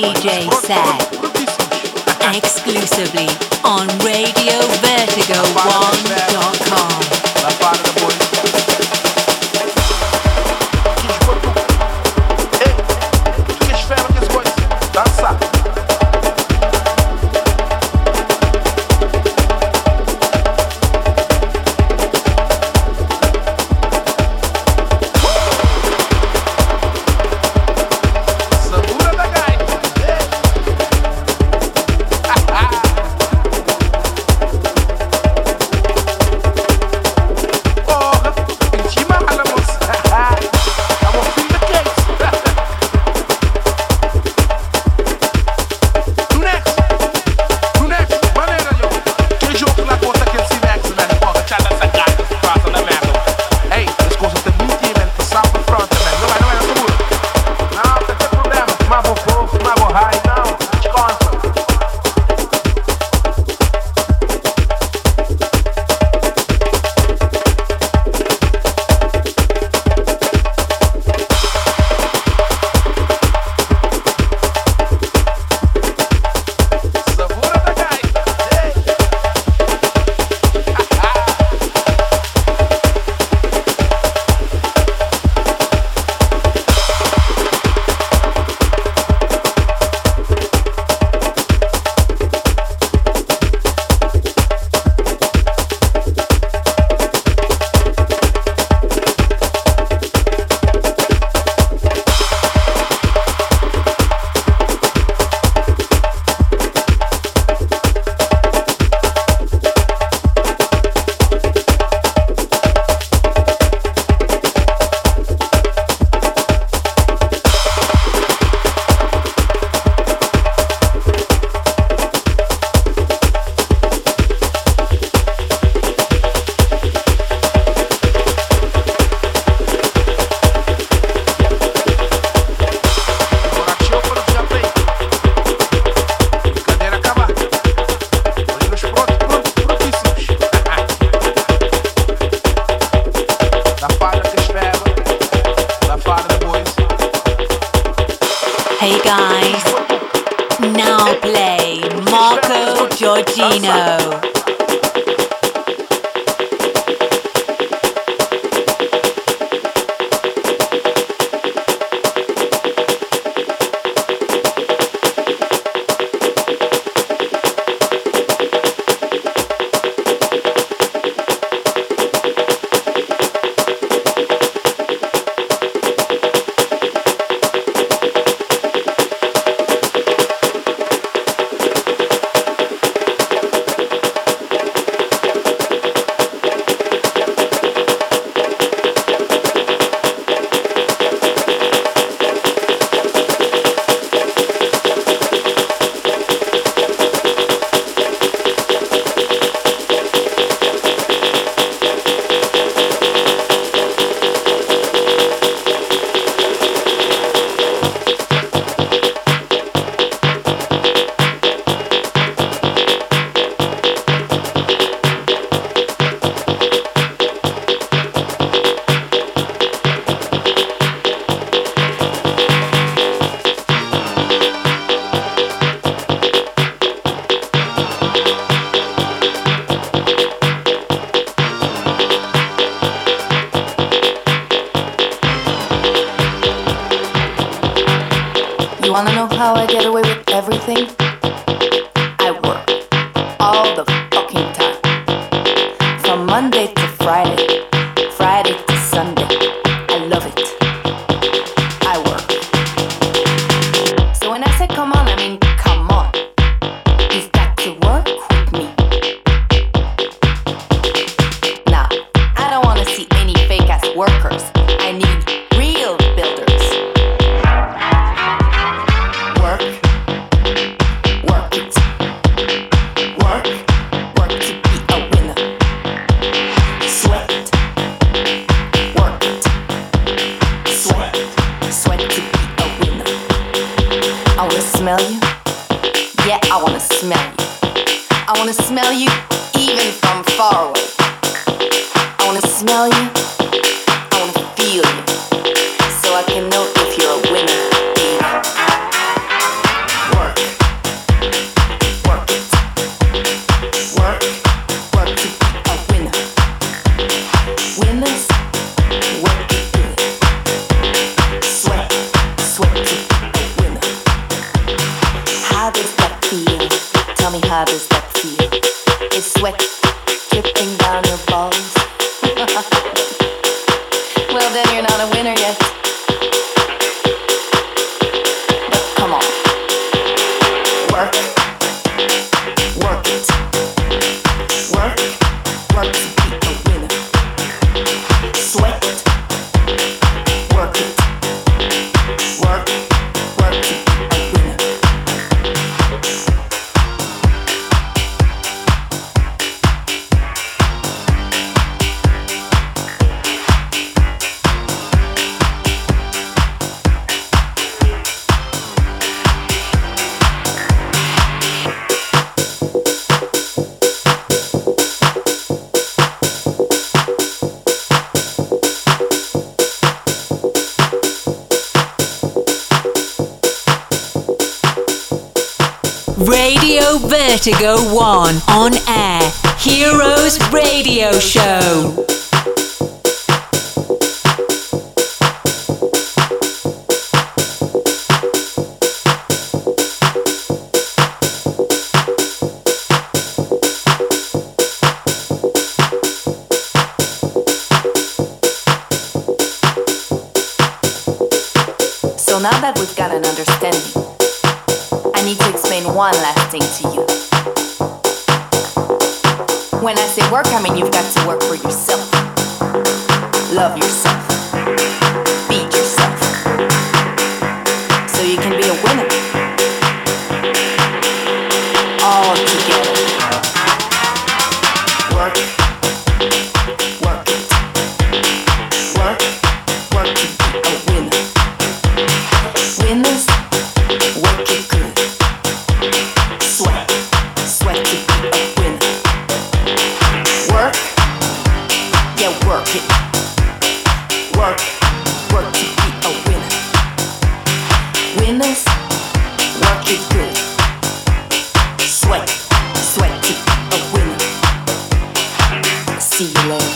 [SPEAKER 1] D J set exclusively on radio vertigo one dot com. Giorgino.
[SPEAKER 2] Wanna know how I get away with everything? I work all the fucking time. From Monday to Friday, Friday to Sunday. I love it. I work. So when I say come on, I mean come on. You've got to work with me. Nah, I don't wanna see any fake ass workers. I need real builders. Smell you? Yeah, I wanna smell you. I wanna smell you even from far away. I wanna smell you. I wanna feel you. So I can know if you're a winner, baby. How does that feel? Is sweat dripping down your balls? Well, then you're not a winner yet. But come on. Work. Work it. Work. Work to be a winner. Sweat. Work it. Work. Work to be a winner.
[SPEAKER 1] Radio Vertigo One on air. Heroes Radio Show.
[SPEAKER 2] So now that we've got an understanding, I need to explain one last thing to you. When I say work, I mean you've got to work for yourself. Love yourself. Feed yourself. So you can be a winner. All together. Work. Work it. Work. Work to be a winner. Winners. Work it good. Sweat, sweat to be a winner. Work, yeah, work it. Work, work to be a winner. Winners, work it good. Sweat, sweat to be a winner. See you later.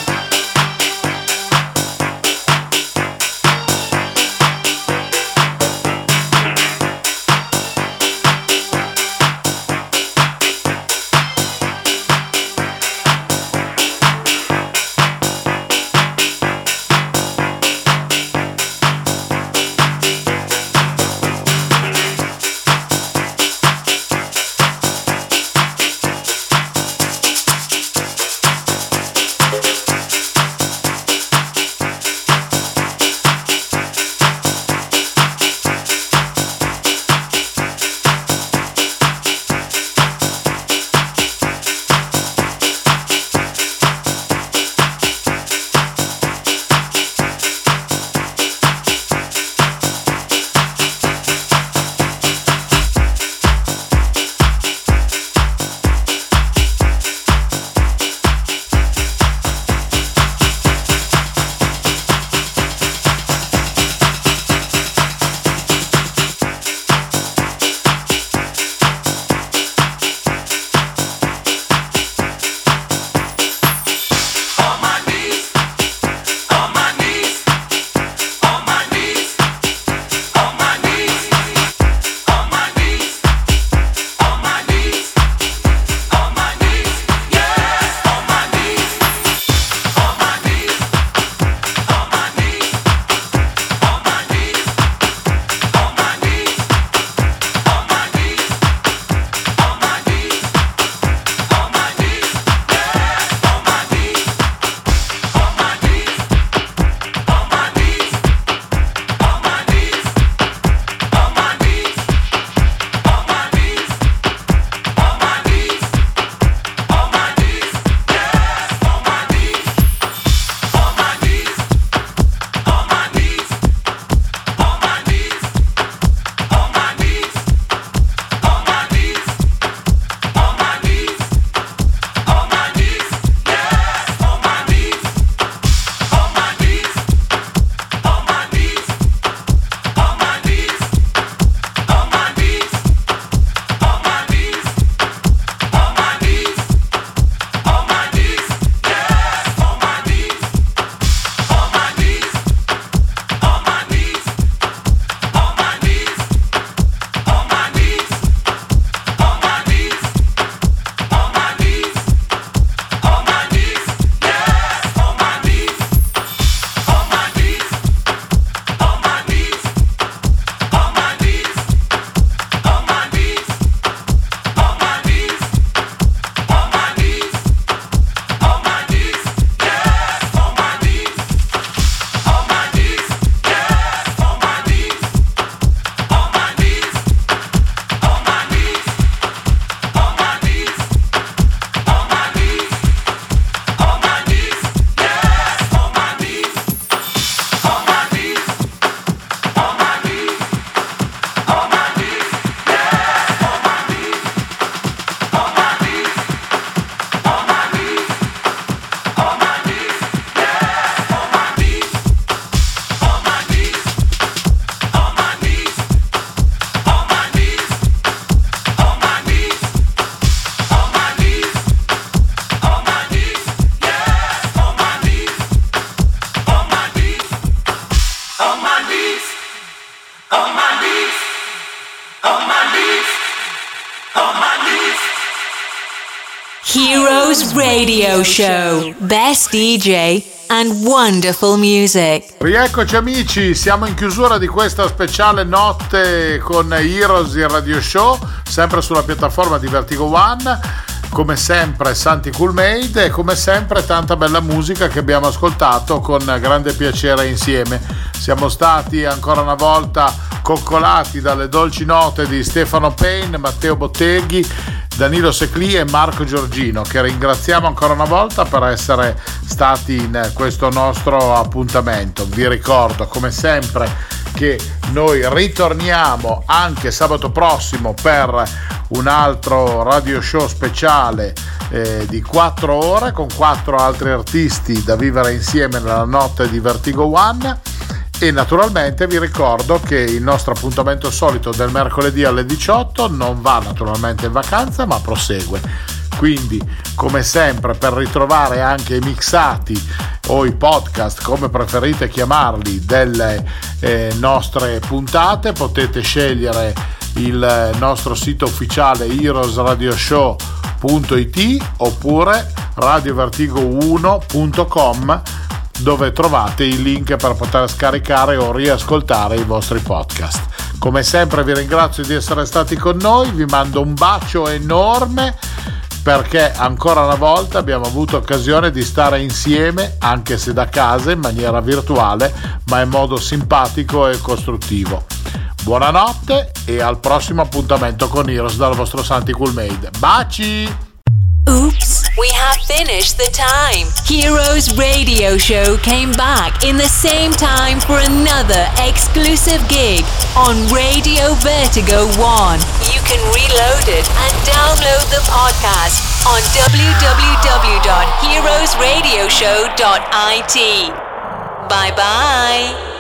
[SPEAKER 1] Heroes Radio Show. Best D J and wonderful music.
[SPEAKER 3] Rieccoci amici, siamo in chiusura di questa speciale notte con Heroes il Radio Show, sempre sulla piattaforma di Vertigo One. Come sempre Santi Cool Made e come sempre tanta bella musica che abbiamo ascoltato con grande piacere insieme. Siamo stati ancora una volta coccolati dalle dolci note di Stefano Payne, Matteo Botteghi, Danilo Secli e Marco Giorgino, che ringraziamo ancora una volta per essere stati in questo nostro appuntamento. Vi ricordo come sempre che noi ritorniamo anche sabato prossimo per un altro radio show speciale eh, di quattro ore con quattro altri artisti da vivere insieme nella notte di Vertigo One. E naturalmente vi ricordo che il nostro appuntamento solito del mercoledì alle diciotto non va naturalmente in vacanza ma prosegue, quindi come sempre per ritrovare anche i mixati o i podcast, come preferite chiamarli, delle eh, nostre puntate potete scegliere il nostro sito ufficiale heroes radio show punto it oppure radio vertigo uno punto com, dove trovate i link per poter scaricare o riascoltare i vostri podcast. Come sempre vi ringrazio di essere stati con noi, vi mando un bacio enorme perché ancora una volta abbiamo avuto occasione di stare insieme, anche se da casa in maniera virtuale, ma in modo simpatico e costruttivo. Buonanotte e al prossimo appuntamento con Heroes dal vostro Santi Cool Made. Baci!
[SPEAKER 1] Oops, we have finished the time. Heroes Radio Show came back in the same time for another exclusive gig on Radio Vertigo One. You can reload it and download the podcast on w w w dot heroes radio show dot i t. Bye bye.